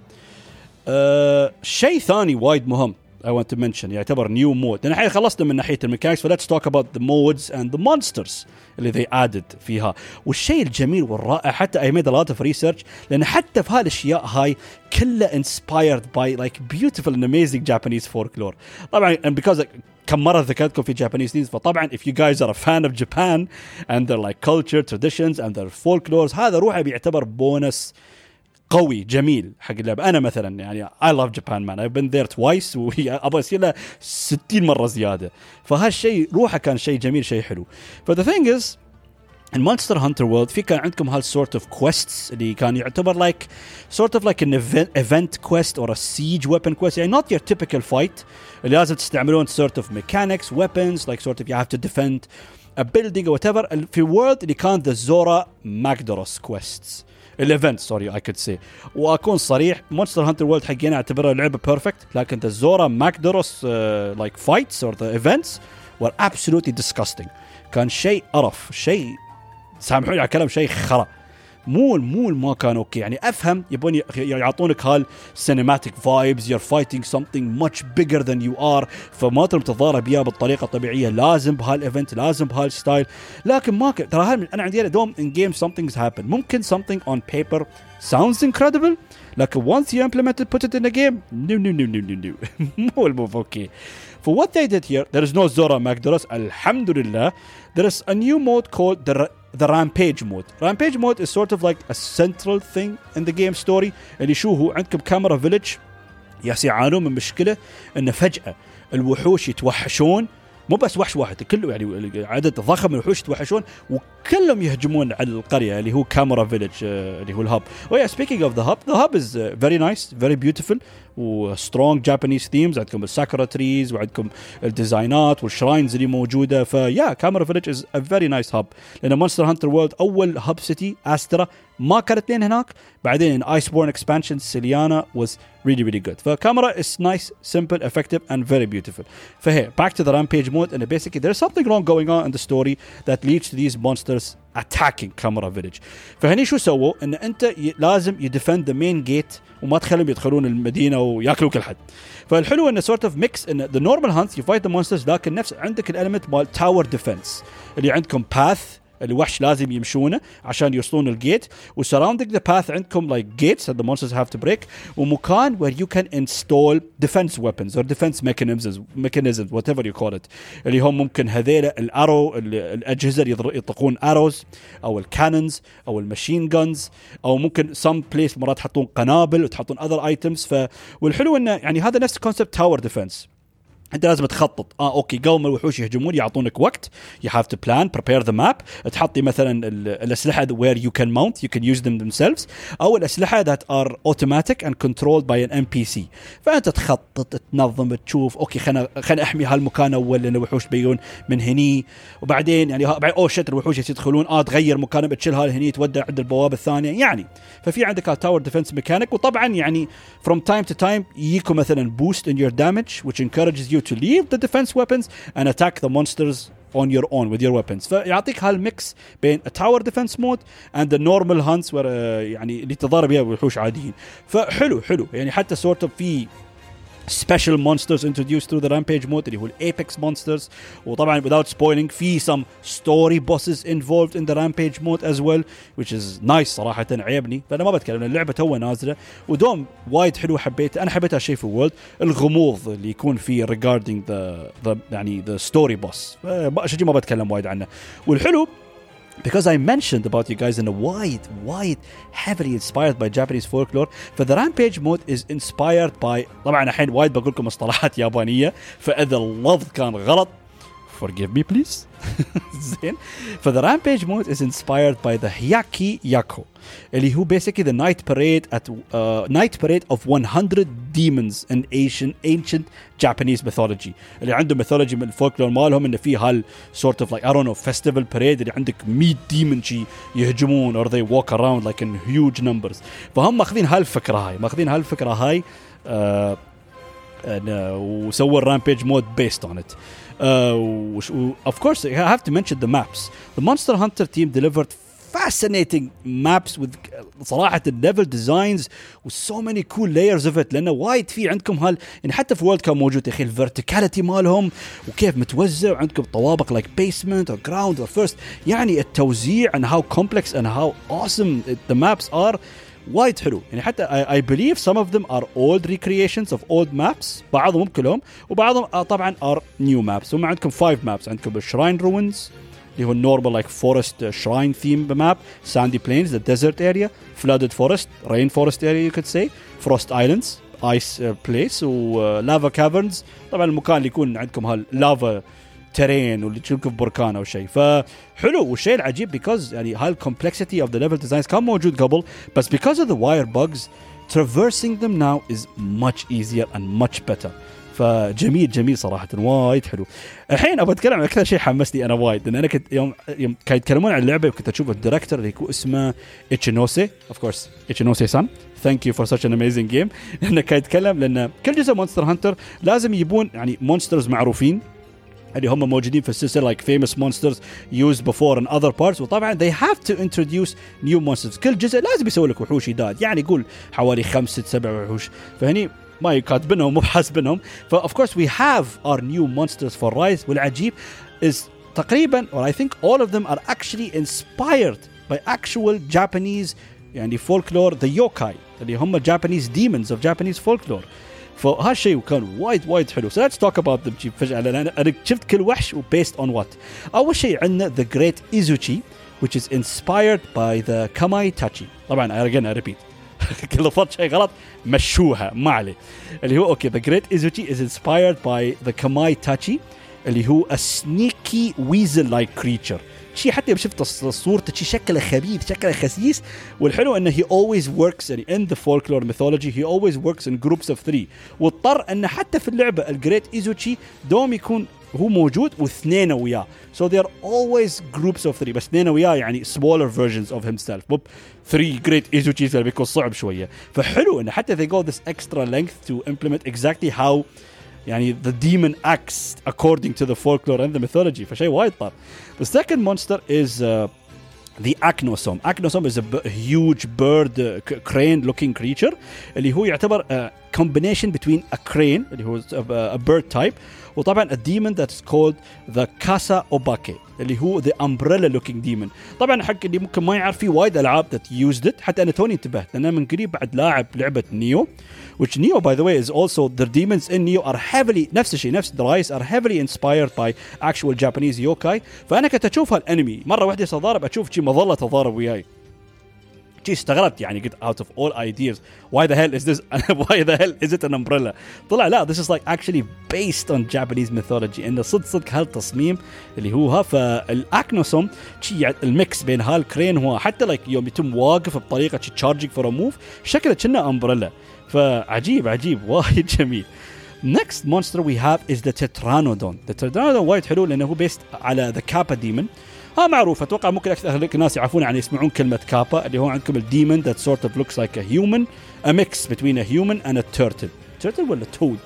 شيء ثاني وايد مهم I want to mention يعتبر new mode. لأن الحين خلصنا من ناحية الميكانيكس, فlet's talk about the modes and the monsters اللي they added فيها. والشيء الجميل والرائع, حتى I made a lot of research, لأن حتى في هالأشياء هاي كلها inspired by like beautiful and amazing Japanese folklore. طبعا and because كم مرة ذكرتكم في Japanese things, فطبعا if you guys are a fan of Japan and their like culture, traditions and their folklores, هذا روحه بيعتبر بونس قوي جميل حق اللعبة. أنا مثلا يعني I love Japan man, I've been there twice وأبغى أصير له 60 مرة زيادة. فهالشيء روحه كان شيء جميل, شيء حلو. But the thing is in Monster Hunter World في كان عندكم هال sort of quests اللي كان يعتبر like sort of like an event quest or a siege weapon quest, يعني not your typical fight اللي لازم تستعملون sort of mechanics, weapons, like sort of you have to defend a building or whatever. في World اللي كان the Zora Magdaros quests, الايفنت سوري I could say. واكون صريح, مونستر هانتر وورلد حقنا اعتبرها لعبه بيرفكت, لكن the Zora Magdaros like fights or the events were absolutely disgusting. كان شيء قرف, شيء سامحوني على الكلام, شيء خرا, مو ما كان اوكي. يعني افهم يبون يعطونك هال cinematic vibes, you're fighting something much bigger than you are, فما تقدر تتضارب بيها بالطريقه الطبيعيه, لازم بهالايفنت, لازم بهالستايل. لكن ما ترى انا عندي دوم in game something's happen. ممكن something on paper sounds incredible, لكن once you implement it, put it in the game, no مو الموف اوكي. For what they did here, there is no Zora Magdaros, alhamdulillah. There is a new mode called the Rampage mode. Rampage mode is sort of like a central thing in the game story. اللي شو هو, عندكم كاميرا فيليج يعانون من مشكلة إن فجأة الوحوش يتوحشون, مو بس وحش واحد, كله يعني عدد ضخم من الوحوش يتوحشون وكلهم يهجمون على القرية اللي هو كاميرا فيليج اللي هو الهب. speaking of the hub is very nice, very beautiful و strong Japanese themes. عندكم الساكورا تريز وعندكم الديزاينات والشراينز اللي موجودة. فيا كاميرا فيليج is a very nice hub, لأن مونستر هانتر وورلد أول هب سيتي أسترا ما كانت لين هناك, بعدين Iceborne expansion سيليانا was really good. فكاميرا is nice, simple, effective and very beautiful. فهي back to the Rampage mode, and basically there's something wrong going on in the story that leads to these monsters attacking Kamara village. فهني شو سووا ان انت لازم يدفند the main gate وما تخليهم يدخلون المدينه وياكلوا كل حد. فالحلو انه sort of mix ان the normal hunts you fight the monsters لكن نفس عندك الاليمنت مال tower defense اللي عندكم path الوحش لازم يمشونه عشان يوصلون الجيت وsurrounding the path عندكم like gates that the monsters have to break ومكان where you can install defense weapons or defense mechanisms whatever you call it اللي هم ممكن هذيل الارو الأجهزة اللي يطلقون arrows أو الcannons أو الماشين guns أو ممكن some place مرات تحطون قنابل وتحطون other items. والحلو إنه يعني هذا نفس concept tower defense. انت لازم تخطط اوكي قبل ما الوحوش يهجمون يعطونك وقت you have to plan prepare the map تحطي مثلا الاسلحه where you can mount you can use them themselves او الاسلحه that are automatic and controlled by an NPC. فانت تخطط تنظم تشوف اوكي خلنا احمي هالمكان اول لان الوحوش بيجون من هني وبعدين يعني شت الوحوش يدخلون تغير مكانهم تشيلها هني تودع عند البوابه الثانيه يعني. ففي عندك تاور ديفنس ميكانيك وطبعا يعني from time to time يجيكم مثلا boost in your damage which encourages you to leave the defense weapons and attack the monsters on your own with your weapons. فيعطيك هالميكس بين a tower defense mode and the normal hunts where يعني اللي تضارب بها وحوش عاديين. فحلو يعني حتى sort of في special monsters introduced through the rampage mode اللي هو apex monsters وطبعا without spoiling في some story bosses involved in the rampage mode as well which is nice صراحة عيبني. فأنا ما بتكلم اللعبة توها نازلة ودوم وايد حلو حبيت أنا حبيت هالشيء في وورلد الغموض اللي يكون فيه regarding the يعني the story boss شيء ما بتكلم وايد عنه. والحلو because I mentioned about you guys in a wide heavily inspired by Japanese folklore for the rampage mode is inspired by طبعا الحين وايد بقول لكم مصطلحات يابانية فإذا اللفظ كان غلط forgive me please. زين. For the rampage mode is inspired by the Hyaki Yako اللي هو basically the night parade of 100 demons in ancient Japanese mythology اللي عنده mythology من الفولكلور مالهم إنه في هال sort of like I don't know festival parade اللي عندك 100 demon شي يهجمون or they walk around like in huge numbers. فهم ماخذين هالفكرة هاي وسووا الرامبيج مود based on it. Of course I have to mention the maps. The Monster Hunter team delivered fascinating maps with صراحة level designs with so many cool layers of it لأنه وايد في عندكم يعني حتى في وورلد كان موجود يا أخي الverticality مالهم وكيف متوزع عندكم طوابق like basement or ground or first يعني التوزيع and how complex and how awesome the maps are وايد حلو يعني حتى I believe some of them are old recreations of old maps بعضهم كلهم وبعضهم طبعا are new maps. هم عندكم 5 maps عندكم Shrine Ruins اللي هو normal like forest shrine theme map Sandy Plains the desert area flooded forest rainforest area you could say Frost Islands ice place و lava caverns طبعا المكان اللي يكون عندكم هاللافا ترين واللي تشوفه في بركان أو شيء. فحلو والشيء العجيب because يعني هاي complexity of the level designs كان موجود قبل بس because of the wire bugs traversing them now is much easier and much better. فجميل صراحة وايد حلو. الحين أبغى أتكلم عن أكثر شيء حمسني أنا وايد لأن أنا كنت يوم كانوا يتكلمون عن اللعبة وكنت أشوف الديركتور اللي يكون اسمه إتشينوسي of course إتشينوسي-san thank you for such an amazing game لأنه كان يتكلم لأن كل جزء مونستر هانتر لازم يبون يعني مونسترز معروفين اللي هم موجودين في السلسلة like famous monsters used before in other parts وطبعا they have to introduce new monsters. كل جزء لازم يسوي لك وحوش جداد يعني يقول حوالي 5-7 وحوش فهني ما يكاتبنهم مو بحاسبنهم. of course we have our new monsters for Rise والعجيب is تقريبا or I think all of them are actually inspired by actual Japanese يعني folklore the yokai اللي هم Japanese demons of Japanese folklore. فهالشيء كان وايد حلو. So let's talk about them فجأة لأن أنا شفت كل وحش و based on what. أول شيء عندنا the great Izuchi which is inspired by the Kamaitachi. طبعا I repeat كل فرد شيء غلط مشوها ما عليه اللي هو okay the great Izuchi is inspired by the Kamaitachi اللي هو a sneaky weasel like creature شيء حتى شفت صورته شيء شكله خبيث شكله خسيس. والحلو انه he always works in the folklore mythology he always works in groups of 3 واضطر انه حتى في اللعبة الجريت إيزوتشي دوم يكون هو موجود واثنين وياه so they are always groups of 3 بس اثنين وياه يعني smaller versions of himself مو 3 great إيزوتشيز بيكون صعب شوية. فحلو انه حتى they go this extra length to implement exactly how يعني the demon acts according to the folklore and the mythology فشيء وايد طار. The second monster is the Acnosome. Acnosome is a huge bird, crane-looking creature اللي هو يعتبر combination between a crane اللي هو a bird type وطبعا a demon that's called the Kasa Obake اللي هو the umbrella-looking demon. طبعا حق اللي ممكن ما يعرف في وايد ألعاب that used it. حتى أنا توني انتبهت لأن من قريب بعد لاعب لعبة نيو, which Neo by the way is also the demons in Neo are heavily نفس الشيء نفس the are heavily inspired by actual Japanese yokai. فأنا كنت أشوف هالأنمي مرة واحدة صدارب أشوف شيء مظلة تضارب وياي. شيء استغربت يعني قلت out of all ideas why the hell is this why the hell is it an umbrella. طلع لا this is like actually based on Japanese mythology إنه صدق هالتصميم اللي هو فالأكنوسوم شيء الميكس بين هالكرين هو حتى like يوم يتم واقف بطريقة charging for a move شكله كأنه umbrella. فعجيب وايد جميل. Next monster we have is the Tetranodon. The Tetranodon وايد حلو لأنه هو based على the Kappa demon. معروف أتوقع ممكن أكثر الناس يعرفون يعني يسمعون كلمة كابا اللي هو عندكم الديمون that sort of looks like a human, a mix between a human and a turtle ولا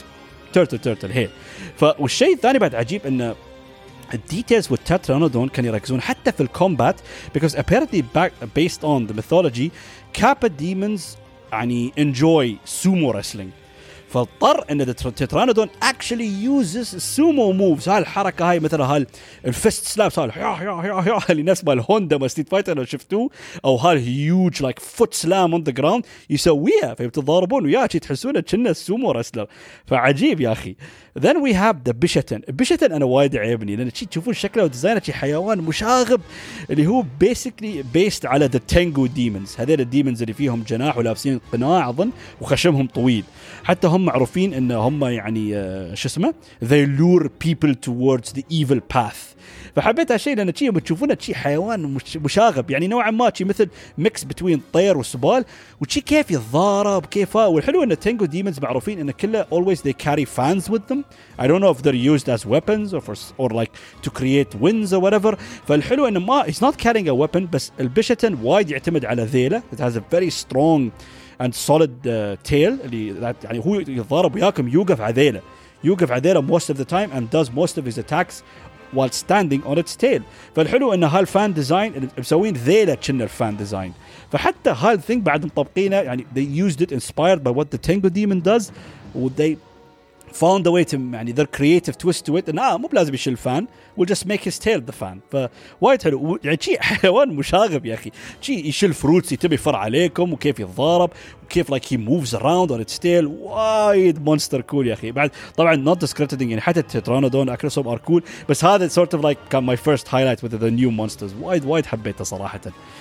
turtle هي. والشيء الثاني بعد عجيب إن الديتيلز والتترانودون كانوا يركزون حتى في الكومبات because apparently based on the mythology Kappa demons يعني enjoy sumo wrestling. فاضطر ان التترانودون actually uses sumo moves. هاي الحركه هاي مثلا الفست سلابس هاي اللي نفس بالهوندا ما ستريت فايتر لو شفتوه او هيوج لايك فوت سلام اون ذا جراوند يسويها فبتضاربون وياه تحسونه كأنه السومو رسلر. فعجيب يا اخي. Then we have the Bishaten أنا وايد عيبني لأن تشوفون شكله وديزاينه شيء حيوان مشاغب اللي هو basically based على the Tengu demons. هذول الديمونز اللي فيهم جناح ولابسين قناع أظن وخشمهم طويل. حتى هم معروفين إن هم يعني شو اسمه they lure people towards the evil path. فحبيت هالشيء لأن شيء بتشوفونه شيء حيوان مشاغب يعني نوعا ما شيء مثل ميكس بين طير وسبال وشيء كيف يتضارب كيفه. والحلو إن التنجو ديمونز معروفين إن كله always they carry fans with them. I don't know if they're used as weapons or like to create winds or whatever. فالحلو إنه ما he's not carrying a weapon بس البيشتن وايد يعتمد على ذيله. It has a very strong and solid tail اللي يعني هو يتضارب وياكم يوقف على ذيله most of the time and does most of his attacks while standing on its tail. فالحلو إن هالفان ديزاين مسوين ذيله كنا الفان ديزاين. فحتى هالثينج بعد مطبقينه يعني they used it inspired by what the Tengu demon does they found a way to يعني their creative twist to it إنه مو بلازم يشيل الفان we'll just make his tail the fan. فوايد حلو يعني شيء حيوان مشاغب يا أخي. شيء يشيل فروتس يتبي يفر عليكم وكيف يتضارب وكيف like he moves around on its tail. وايد monster cool يا أخي. بعد طبعا not discrediting يعني حتى التترانودون أكروسوم are cool بس هذا sort of like كان my first highlight with the new monsters. وايد حبيته صراحة.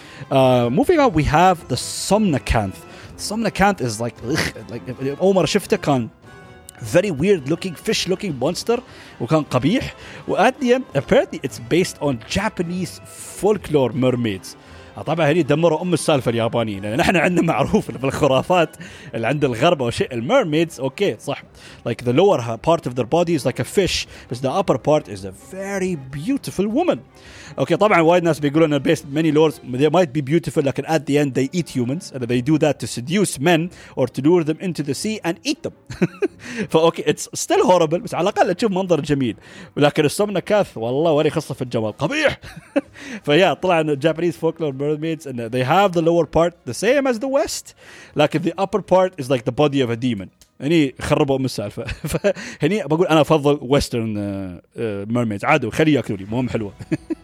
Moving on we have the Somnacanth. Somnacanth is like أول مرة شفته كان very weird looking fish looking monster وكان قبيح. وat the end apparently it's based on Japanese folklore mermaids. طبعا هني دمروا السالفة اليابانيين لأن نحن عندنا معروف في الخرافات اللي عند الغرب أو شيء الميرميدز أوكي صح like the lower part of their body is like a fish but the upper part is a very beautiful woman. أوكي طبعا وايد ناس بيقولون إن based many lores they might be beautiful لكن at the end they eat humans and they do that to seduce men or to lure them into the sea and eat them. فأوكي it's still horrible بس على الأقل تشوف منظر جميل. ولكن السومناكاث والله وري خصة في الجمال قبيح. فيا طلع إن Japanese folklore mermaids and they have the lower part the same as the west لكن the upper part is like the body of a demon. هني خربوا السالفة. فهني بقول أنا أفضل western mermaids عادوا خلي يأكلوني مهم حلوة.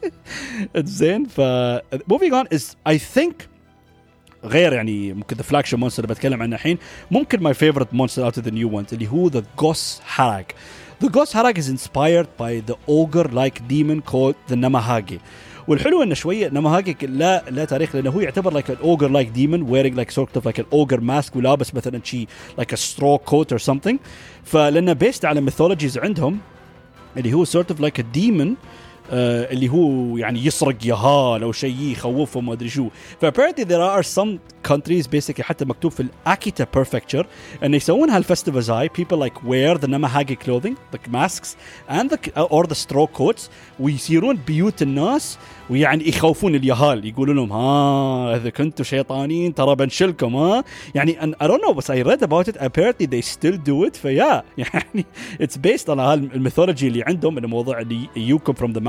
زين moving on is I think غير يعني ممكن the flagship monster اللي بتكلم عنه الحين ممكن my favorite monster out of the new ones اللي هو the Gos Harag. The Gos Harag is inspired by the ogre-like demon called the Namahage. والحلو إنه شوية نماهاجي لا تاريخ لأنه هو يعتبر like an ogre-like demon wearing like sort of like an ogre mask ولابس مثلا شيء like a straw coat or something. فلأنه based على mythologies عندهم اللي هو sort of like a demon اللي هو يعني يسرق يهال أو شيء يخوفهم ما أدري شو. apparently there are some countries basically حتى مكتوب في Akita Prefecture أن يسوون هالفستيفالز هاي people like wear the Namahage clothing the masks and or the straw coats ويصيرون بيوت الناس ويعني يخوفون اليهال يقولون لهم إذا كنتوا شيطانين ترى بنشلكم يعني I don't know but I read about it apparently they still do it فيا يعني it's based على هالميثولوجي اللي عندهم الموضوع اللي you come from the mountain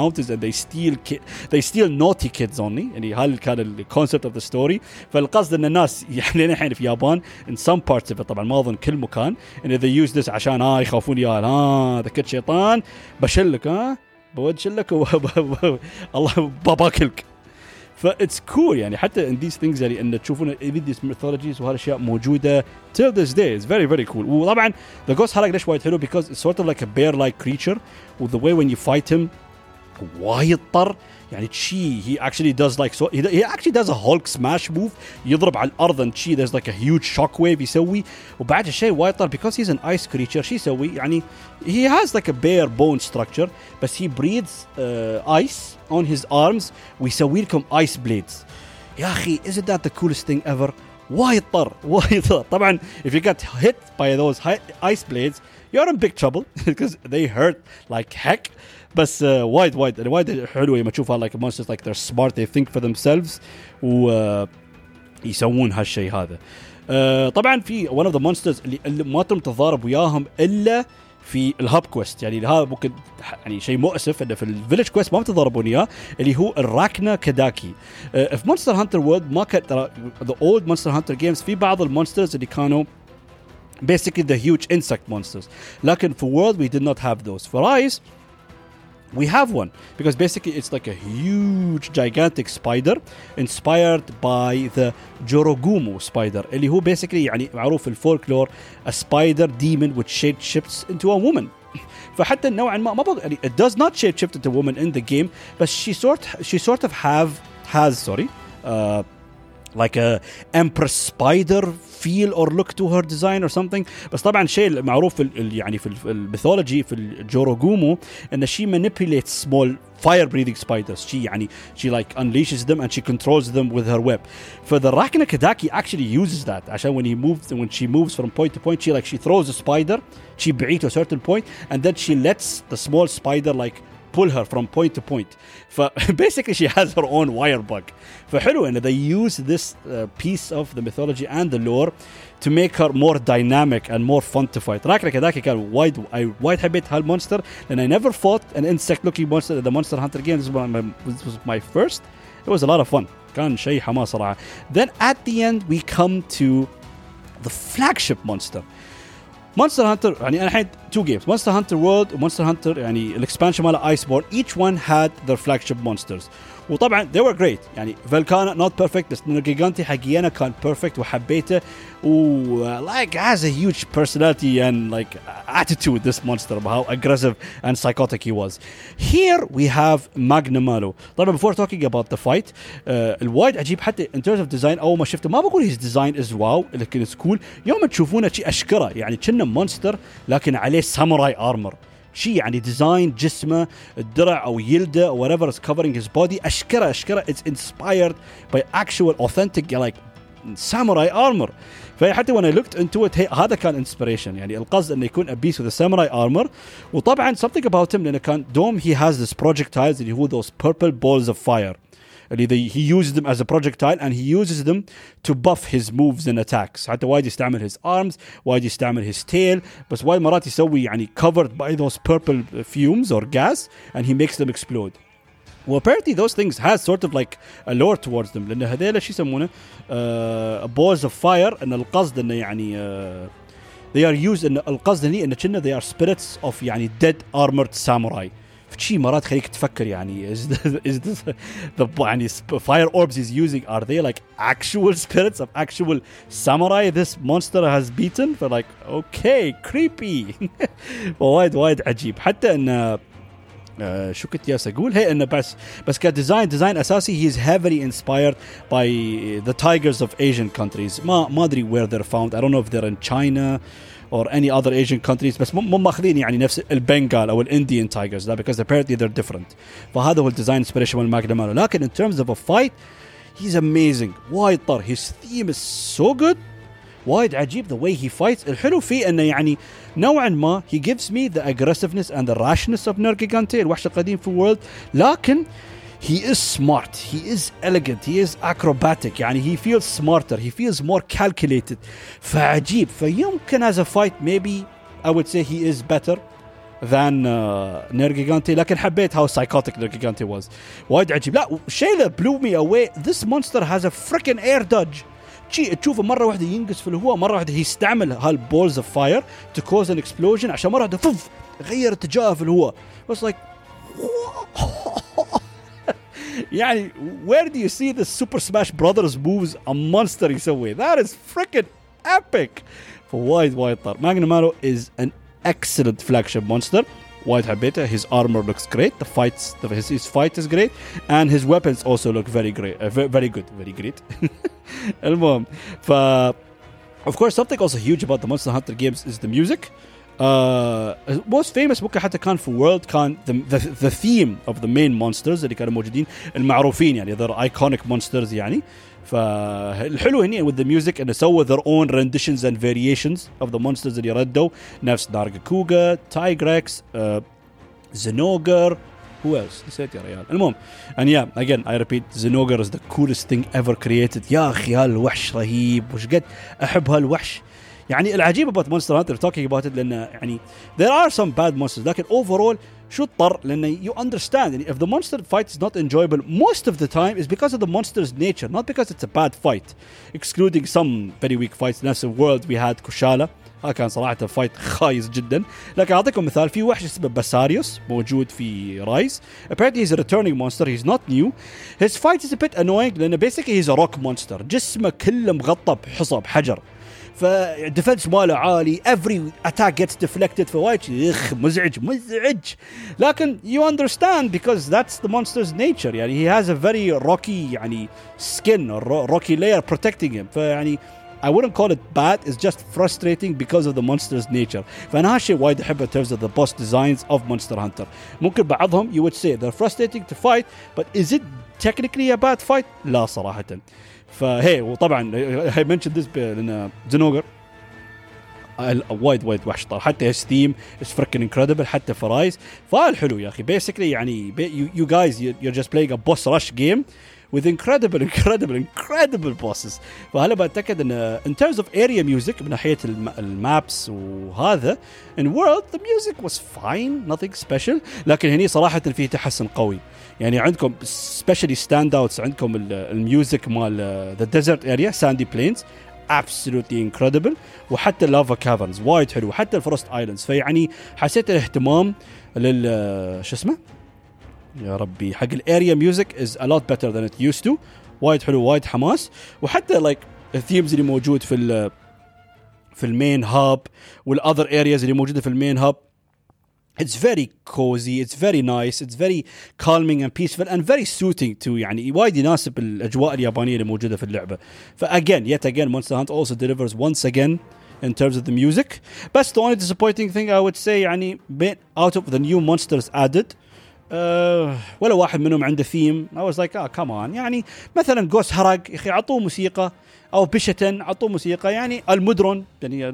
mountains and they steal naughty kids only. يعني هذا كان الكونسبت of the story. فالقصد ان الناس يعني الحين في اليابان in some parts of it طبعا ما اظن كل مكان ان they use this عشان يخافون يا ذا كنت شيطان بشلك بودشلك الله باباكلك. فإتس cool يعني حتى in these things يعني ان تشوفون these mythologies وهذه الاشياء موجوده till this day. It's very very cool. وطبعا the ghost حلق ليش وايد حلو because it's sort of like a bear like creature with the way when you fight him وايد طر يعني he actually does like so he actually does a Hulk smash move يضرب على الارض and there's like a huge shockwave يسوي. وبعد الشيء وايد طر because he's an ice creature شي يسوي يعني he has like a bare bone structure بس he breathes ice on his arms ويسوي لكم ice blades. يا أخي isn't that the coolest thing ever. وايد طر طبعا if you get hit by those ice blades you're in big trouble because they hurt like heck. بس وايد حلوة لما تشوفها like monsters like they're smart they think for themselves ويسوون هالشيء هذا. طبعا في one of the monsters اللي ما تم تضارب وياهم إلا في الهاب كويست يعني هذا ممكن يعني شيء مؤسف انه في الفيلج كويست ما بتضربون اياه اللي هو الراكنا كداكي. في مونستر هانتر وورلد ما كان ترى the old monster hunter games في بعض المونسترز اللي كانوا basically the huge insect monsters لكن في world we did not have those. For Rise we have one because basically it's like a huge gigantic spider inspired by the Jorogumo spider اللي هو basically يعني معروف في الفولكلور a spider demon which shapeshifts into a woman. فحتى نوعا ما يعني it does not shapeshift into a woman in the game but she sort of has like a empress spider feel or look to her design or something. بس طبعا شيء المعروف يعني في الميثولوجي في الجوروغومو ان she manipulates small fire breathing spiders. She like unleashes them and she controls them with her web. For the Rakna Kadaki actually uses that عشان when she moves from point to point she throws a spider she بعيد to a certain point and then she lets the small spider like pull her from point to point. Basically she has her own wire bug. فحلو ان they use this piece of the mythology and the lore to make her more dynamic and more fun to fight. راكنا كذاك كان وايد حبيت هالمونستر and I never fought an insect looking monster in the Monster Hunter game. This was my first. It was a lot of fun. كان شيء حماس صراحة. Then at the end we come to the flagship monster. Monster Hunter يعني أنا الحين two games Monster Hunter World و Monster Hunter يعني الإكسبانشن ماله Iceborne each one had their flagship monsters وطبعا they were great يعني Velkhana not perfect بس Nergigante حقيقة كان perfect وحبيته و like has a huge personality and like attitude this monster about how aggressive and psychotic he was. Here we have Magnamalo. طبعا before talking about the fight الوايد عجيب حتى in terms of design أول ما شفته ما بقول his design is wow لكن it's cool. يوم تشوفونه شيء أشكره يعني كأنه مونستر لكن عليه ساموراي armor شيء يعني ديزاين جسمه الدرع أو يلده or whatever is covering his body أشكره it's inspired by actual authentic like samurai armor. فحتى when I looked into it هذا كان inspiration يعني القصد إنه يكون a beast with a samurai armor. وطبعا something about him لأنه كان dome he has this projectiles اللي هو those purple balls of fire اللي he uses them as a projectile and he uses them to buff his moves and attacks. حتى وايد يستعمل his arms وايد يستعمل his tail بس وايد مرات يسوي يعني covered by those purple fumes or gas and he makes them explode. Well, apparently those things has sort of like a lore towards them لأن هذيلا شو يسمونه balls of fire إن القصد إنه يعني they are used إن القصد إنه كنا they are spirits of يعني dead armored samurai. فشي مرات خليك تفكر يعني is this the يعني fire orbs he's using are they like actual spirits of actual samurai this monster has beaten for like okay creepy. وايد عجيب حتى إن شو كنت جالس أقول هي إنه بس كديزاين أساسي he is heavily inspired by the tigers of Asian countries. ما أدري where they're found. I don't know if they're in China or any other Asian countries بس مو ماخذين يعني نفس البنغال أو الإنديان tigers لا because apparently they're different. فهذا هو الديزاين inspiration من ماغنامالو. لكن in terms of a fight he's amazing وايد طر his theme is so good وايد عجيب the way he fights. الحلو فيه انه يعني نوعا ما he gives me the aggressiveness and the rashness of Nergigante الوحش القديم في world لكن he is smart he is elegant he is acrobatic يعني he feels smarter he feels more calculated فعجيب. فيمكن as a fight maybe I would say he is better than Nergigante. لكن حبيت how psychotic Nergigante was. وايد عجيب. لا الشيء اللي blew me away, this monster has a freaking air dodge. تشوفه مرة واحدة ينقص في الهواء, مرة واحدة يستعمل هالballs of fire to cause an explosion, عشان مرة واحدة فوف غير اتجاهه في الهواء. was like يعني where do you see the Super Smash Brothers moves a monster يسوي? That is freaking epic. فوايد طار. Magna Malo is an excellent flagship monster. وايد حبيته. His armor looks great. His fight is great, and his weapons also look very great, very great. المهم, of course something also huge about the Monster Hunter games is the music. Most famous ممكن حتى كان في World كان the theme of the main monsters اللي كانوا موجودين المعروفين, يعني they're iconic monsters يعني. فالحلو هنا with the music إنه سووا their own renditions and variations of the monsters اللي ردوا, نفس Nargacuga, Tigrex, Zinogre, who else نسيت يا ريال. المهم, and yeah, again I repeat, Zinogre is the coolest thing ever created. يا أخي هالوحش رهيب, وش قد أحب هالوحش. يعني العجيب about Monster Hunter talking about it لأن يعني there are some bad monsters, لكن overall شو اضطر, لأن you understand يعني if the monster fight is not enjoyable most of the time is because of the monster's nature, not because it's a bad fight, excluding some very weak fights. نفس World we had Kushala, كان صراحة فايت خايس جدا. لكن أعطيكم مثال, في وحش اسمه باساريوس موجود في رايز. Apparently he's a returning monster, he's not new. His fight is a bit annoying لأنه basically he's a rock monster, جسمه كله مغطى بحصى بحجر, فديفنس ماله عالي, every attack gets deflected, فوايد مزعج. لكن you understand because that's the monster's nature. يعني he has a very rocky يعني skin or rocky layer protecting him. فيعني I wouldn't call it bad, it's just frustrating because of the monster's nature. فأنا هالشيء وايد أحبه in terms of the boss designs of Monster Hunter. ممكن بعضهم you would say they're frustrating to fight, but is it technically a bad fight? لا صراحة. فهي وطبعا I mentioned this لأن Zinogre وايد وحش طار, حتى his theme is freaking incredible, حتى في رايز. فالحلو يا أخي basically يعني you guys you're just playing a boss rush game with incredible bosses. فهلا بتأكد ان in terms of area music من ناحية المابس وهذا in World the music was fine, nothing special, لكن هني صراحة فيه تحسن قوي. يعني عندكم especially standouts, عندكم الميوزك مال the desert area, sandy plains, absolutely incredible, وحتى lava caverns وايد حلو, حتى الفورست ايلاندز. فيعني حسيت الاهتمام شو اسمه يا ربي حق الاريا ميوزك is a lot better than it used to. وايد حلو, وايد حماس, وحتى like الثيمز اللي موجود في المين هاب والother areas اللي موجودة في المين هاب, it's very cozy, it's very nice, it's very calming and peaceful and very suiting to يعني وايد يناسب الأجواء اليابانية اللي موجودة في اللعبة. yet again Monster Hunter also delivers once again in terms of the music. But the only disappointing thing I would say يعني out of the new monsters added ولا واحد منهم عنده theme. I was like come on, يعني مثلا Ghost هرق يا أخي عطوه موسيقى, أو بشتن عطوه موسيقى. يعني المدرون يعني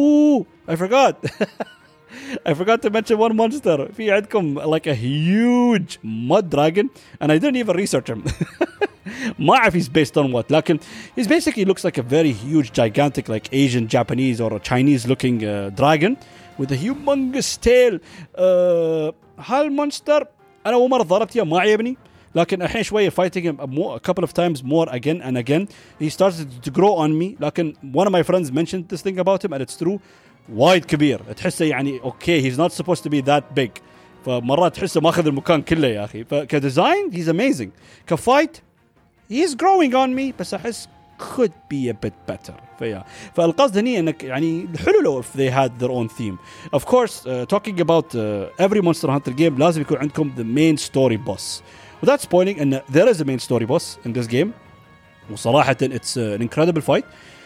I forgot to mention one monster. في عندكم like a huge mud dragon and I didn't even research him. ما أعرف he's based on what, لكن he's basically looks like a very huge gigantic like Asian, Japanese or a Chinese looking dragon with a humongous tail. هالمونستر أنا أول مرة ضربت ما عجبني, لكن الحين شوية fighting him a couple of times more again and again he started to grow on me. لكن one of my friends mentioned this thing about him and it's true, وايد كبير, تحسه يعني okay he's not supposed to be that big, فمرات تحسه ماخذ المكان كله يا أخي. فكديزاين he's amazing, كفايت he's growing on me, بس أحس could be a bit better. فالقصد هني انك يعني حلو لو if they had their own theme. Of course talking about every Monster Hunter game لازم يكون عندكم the main story boss, without spoiling ان there is a main story boss in this game, وصراحة it's an incredible fight.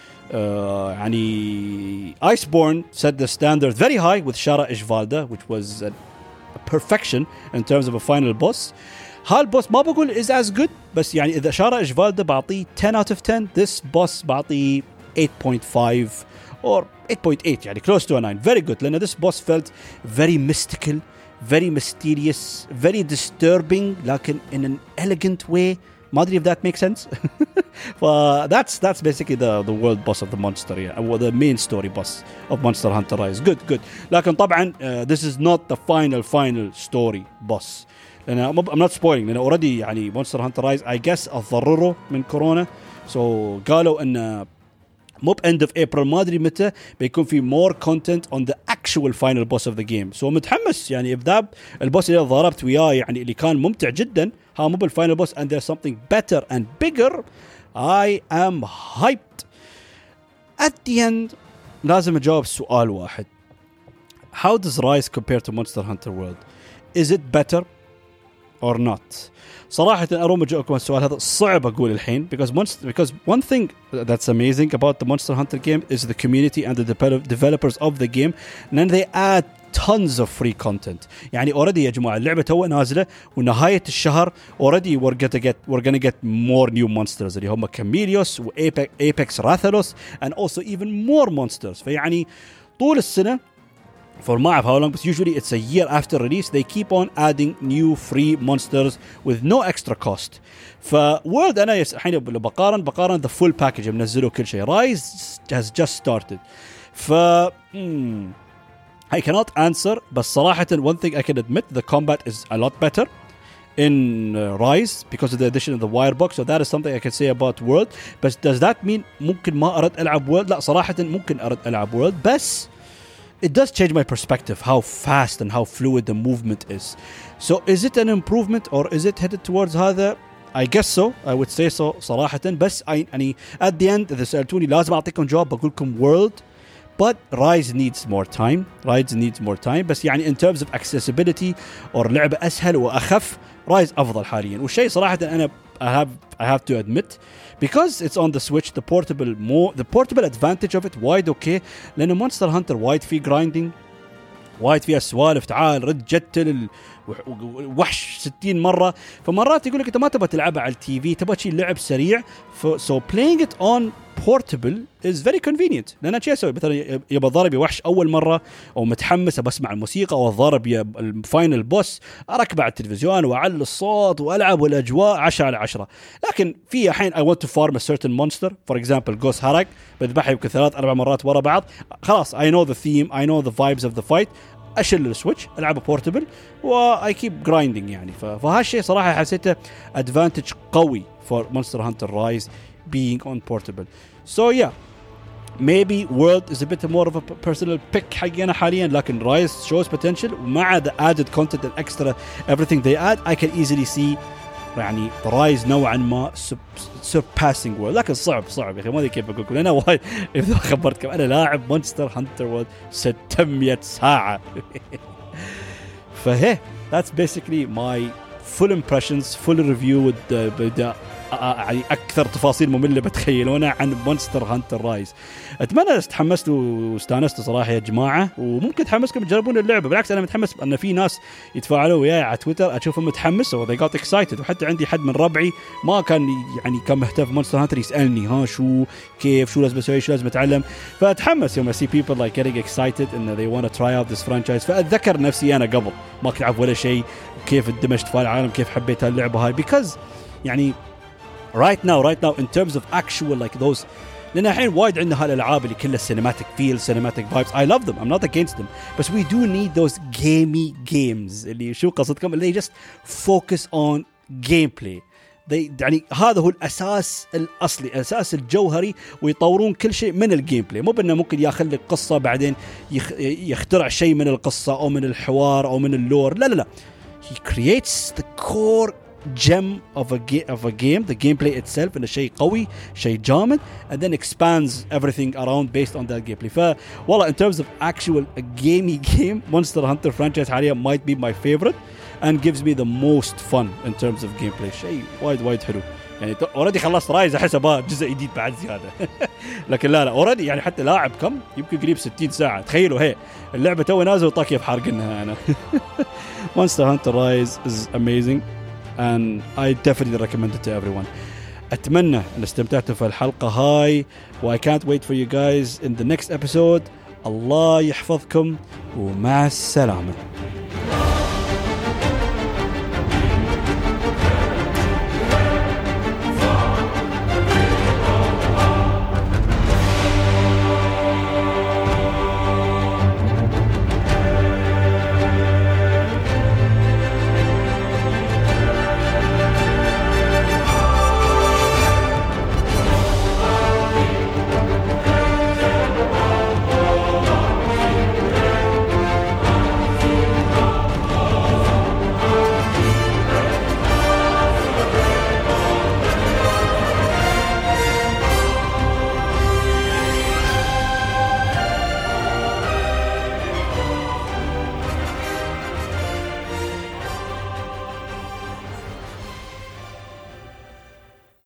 يعني Iceborne set the standard very high with Shara Ishvalda, which was a perfection in terms of a final boss. هالبوس ما بقول is as good, بس يعني إذا شارع إشفالدا بعطيه 10 out of 10, this boss بعطيه 8.5 or 8.8, يعني close to a 9. Very good, لأن this boss felt very mystical, very mysterious, very disturbing, لكن in an elegant way, ما أدري if that makes sense. That's basically the world boss of the monster, or the main story boss of Monster Hunter Rise. Good. لكن طبعا this is not the final story boss. لأن I'm not spoiling. لأن already يعني Monster Hunter Rise I guess أضرروا من كورونا. So قالوا إن مو end of April ما أدري متى بيكون في more content on the actual final boss of the game. So متحمس يعني if that البوس اللي ضربت وياه يعني اللي كان ممتع جدا ها مو بالفاينل boss and there's something better and bigger, I am hyped. At the end لازم أجاوب سؤال واحد. How does Rise compare to Monster Hunter World? Is it better or not? صراحة أروم أجاوبكم السؤال هذا صعب أقول الحين because one thing that's amazing about the Monster Hunter game is the community and the developers of the game, and they add tons of free content. يعني already يا جماعة اللعبة توها نازلة ونهاية الشهر already we're gonna get more new monsters اللي هم كاميليوس و Apex Rathalos and also even more monsters. فيعني طول السنة for ما أعرف how long, but usually it's a year after release they keep on adding new free monsters with no extra cost. فورد أنا الحين بقارن the full package منزلوا كل شيء. Rise has just started. I cannot answer, but صراحة one thing I can admit, the combat is a lot better in Rise because of the addition of the wire box. So that is something I can say about World. But does that mean ممكن ما أرد ألعب World؟ لا صراحة ممكن أرد ألعب World, بس it does change my perspective how fast and how fluid the movement is. So is it an improvement or is it headed towards هذا? I guess so. I would say so صراحة. بس يعني at the end إذا سألتوني لازم أعطيكم جواب بقولكم World. But Rise needs more time. بس يعني in terms of accessibility or لعبة أسهل وأخف Rise أفضل حاليا. والشيء صراحة أنا I have to admit, because it's on the Switch, the portable advantage of it wide okay. لأنه Monster Hunter wide فيه grinding, وايد فيها سوالف تعال رد جتل وحش 60 مرة. فمرات يقول لك أنت ما تبغى تلعبها على التي في, تبغى شيء لعب سريع. So playing it on portable is very convenient. لأن أنا شيء أسوي مثلا يبغى ضارب وحش أول مرة أو متحمس بسمع الموسيقى أو ضارب الفاينل بوس, أركب على التلفزيون وأعلي الصوت وألعب والأجواء 10/10. لكن في حين I want to farm a certain monster, for example Ghost Harak, بذبحها يمكن 3-4 مرات ورا بعض, خلاص I know the theme, I know the vibes of the fight, أشل السويتش ألعبه بورتبل و I keep grinding يعني. فهالشيء صراحة حسيته advantage قوي for Monster Hunter Rise being on portable. So yeah, maybe World is a bit more of a personal pick حقنا حاليا, لكن Rise shows potential. ومع the added content and extra everything they add, I can easily see يعني Rise نوعا ما surpassing World. لكن صعب يا أخي, ما أدري كيف أقول لكم. أنا وايد إذا خبرتكم أنا لاعب Monster Hunter World 600 ساعة. فهي that's basically my full impressions, full review with يعني أكثر تفاصيل مملة بتخيلونها عن Monster Hunter Rise. أتمنى استحمستوا واستانستوا صراحة يا جماعة, وممكن تحمسكم تجربون اللعبة. بالعكس أنا متحمس أن في ناس يتفاعلوا وياي على تويتر أشوفهم متحمس و they got excited. وحتى عندي حد من ربعي ما كان يعني كان مهتم في Monster Hunter يسألني ها شو كيف شو لازم أسوي شو لازم أتعلم. فأتحمس يوم I see people like getting excited and they want to try out this franchise. فأتذكر نفسي أنا قبل ما كنت أعرف ولا شيء كيف اندمجت في العالم, كيف حبيت هاللعبة هاي, because يعني right now in terms of actual like those, لأن الحين وايد عندنا هالألعاب اللي كلها cinematic feel, cinematic vibes. I love them, I'm not against them, but we do need those gamey games اللي شو قصدكم اللي just focus on gameplay. يعني هذا هو الأساس الأصلي, الأساس الجوهري, ويطورون كل شيء من الجيم بلاي. مو بأنه ممكن ياخذ لك قصة بعدين يخترع شيء من القصة أو من الحوار أو من اللور. لا he creates the core gem of a game, the gameplay itself, and شيء قوي, شيء جامد, and then expands everything around based on that gameplay. والله in terms of actual a gamey game, Monster Hunter franchise حاليا might be my favorite and gives me the most fun in terms of gameplay. شيء وايد حلو يعني. already خلصت رايز أحسبها جزء جديد بعد زيادة. لكن لا already يعني حتى لاعب كم يمكن قريب 60 ساعة. تخيلوا هي اللعبة تو نازل وطاقية في حارقنها أنا. Monster Hunter Rise is amazing and I definitely recommend it to everyone. أتمنى أن استمتعتوا في الحلقة هاي, و I can't wait for you guys in the next episode. الله يحفظكم ومع السلامة.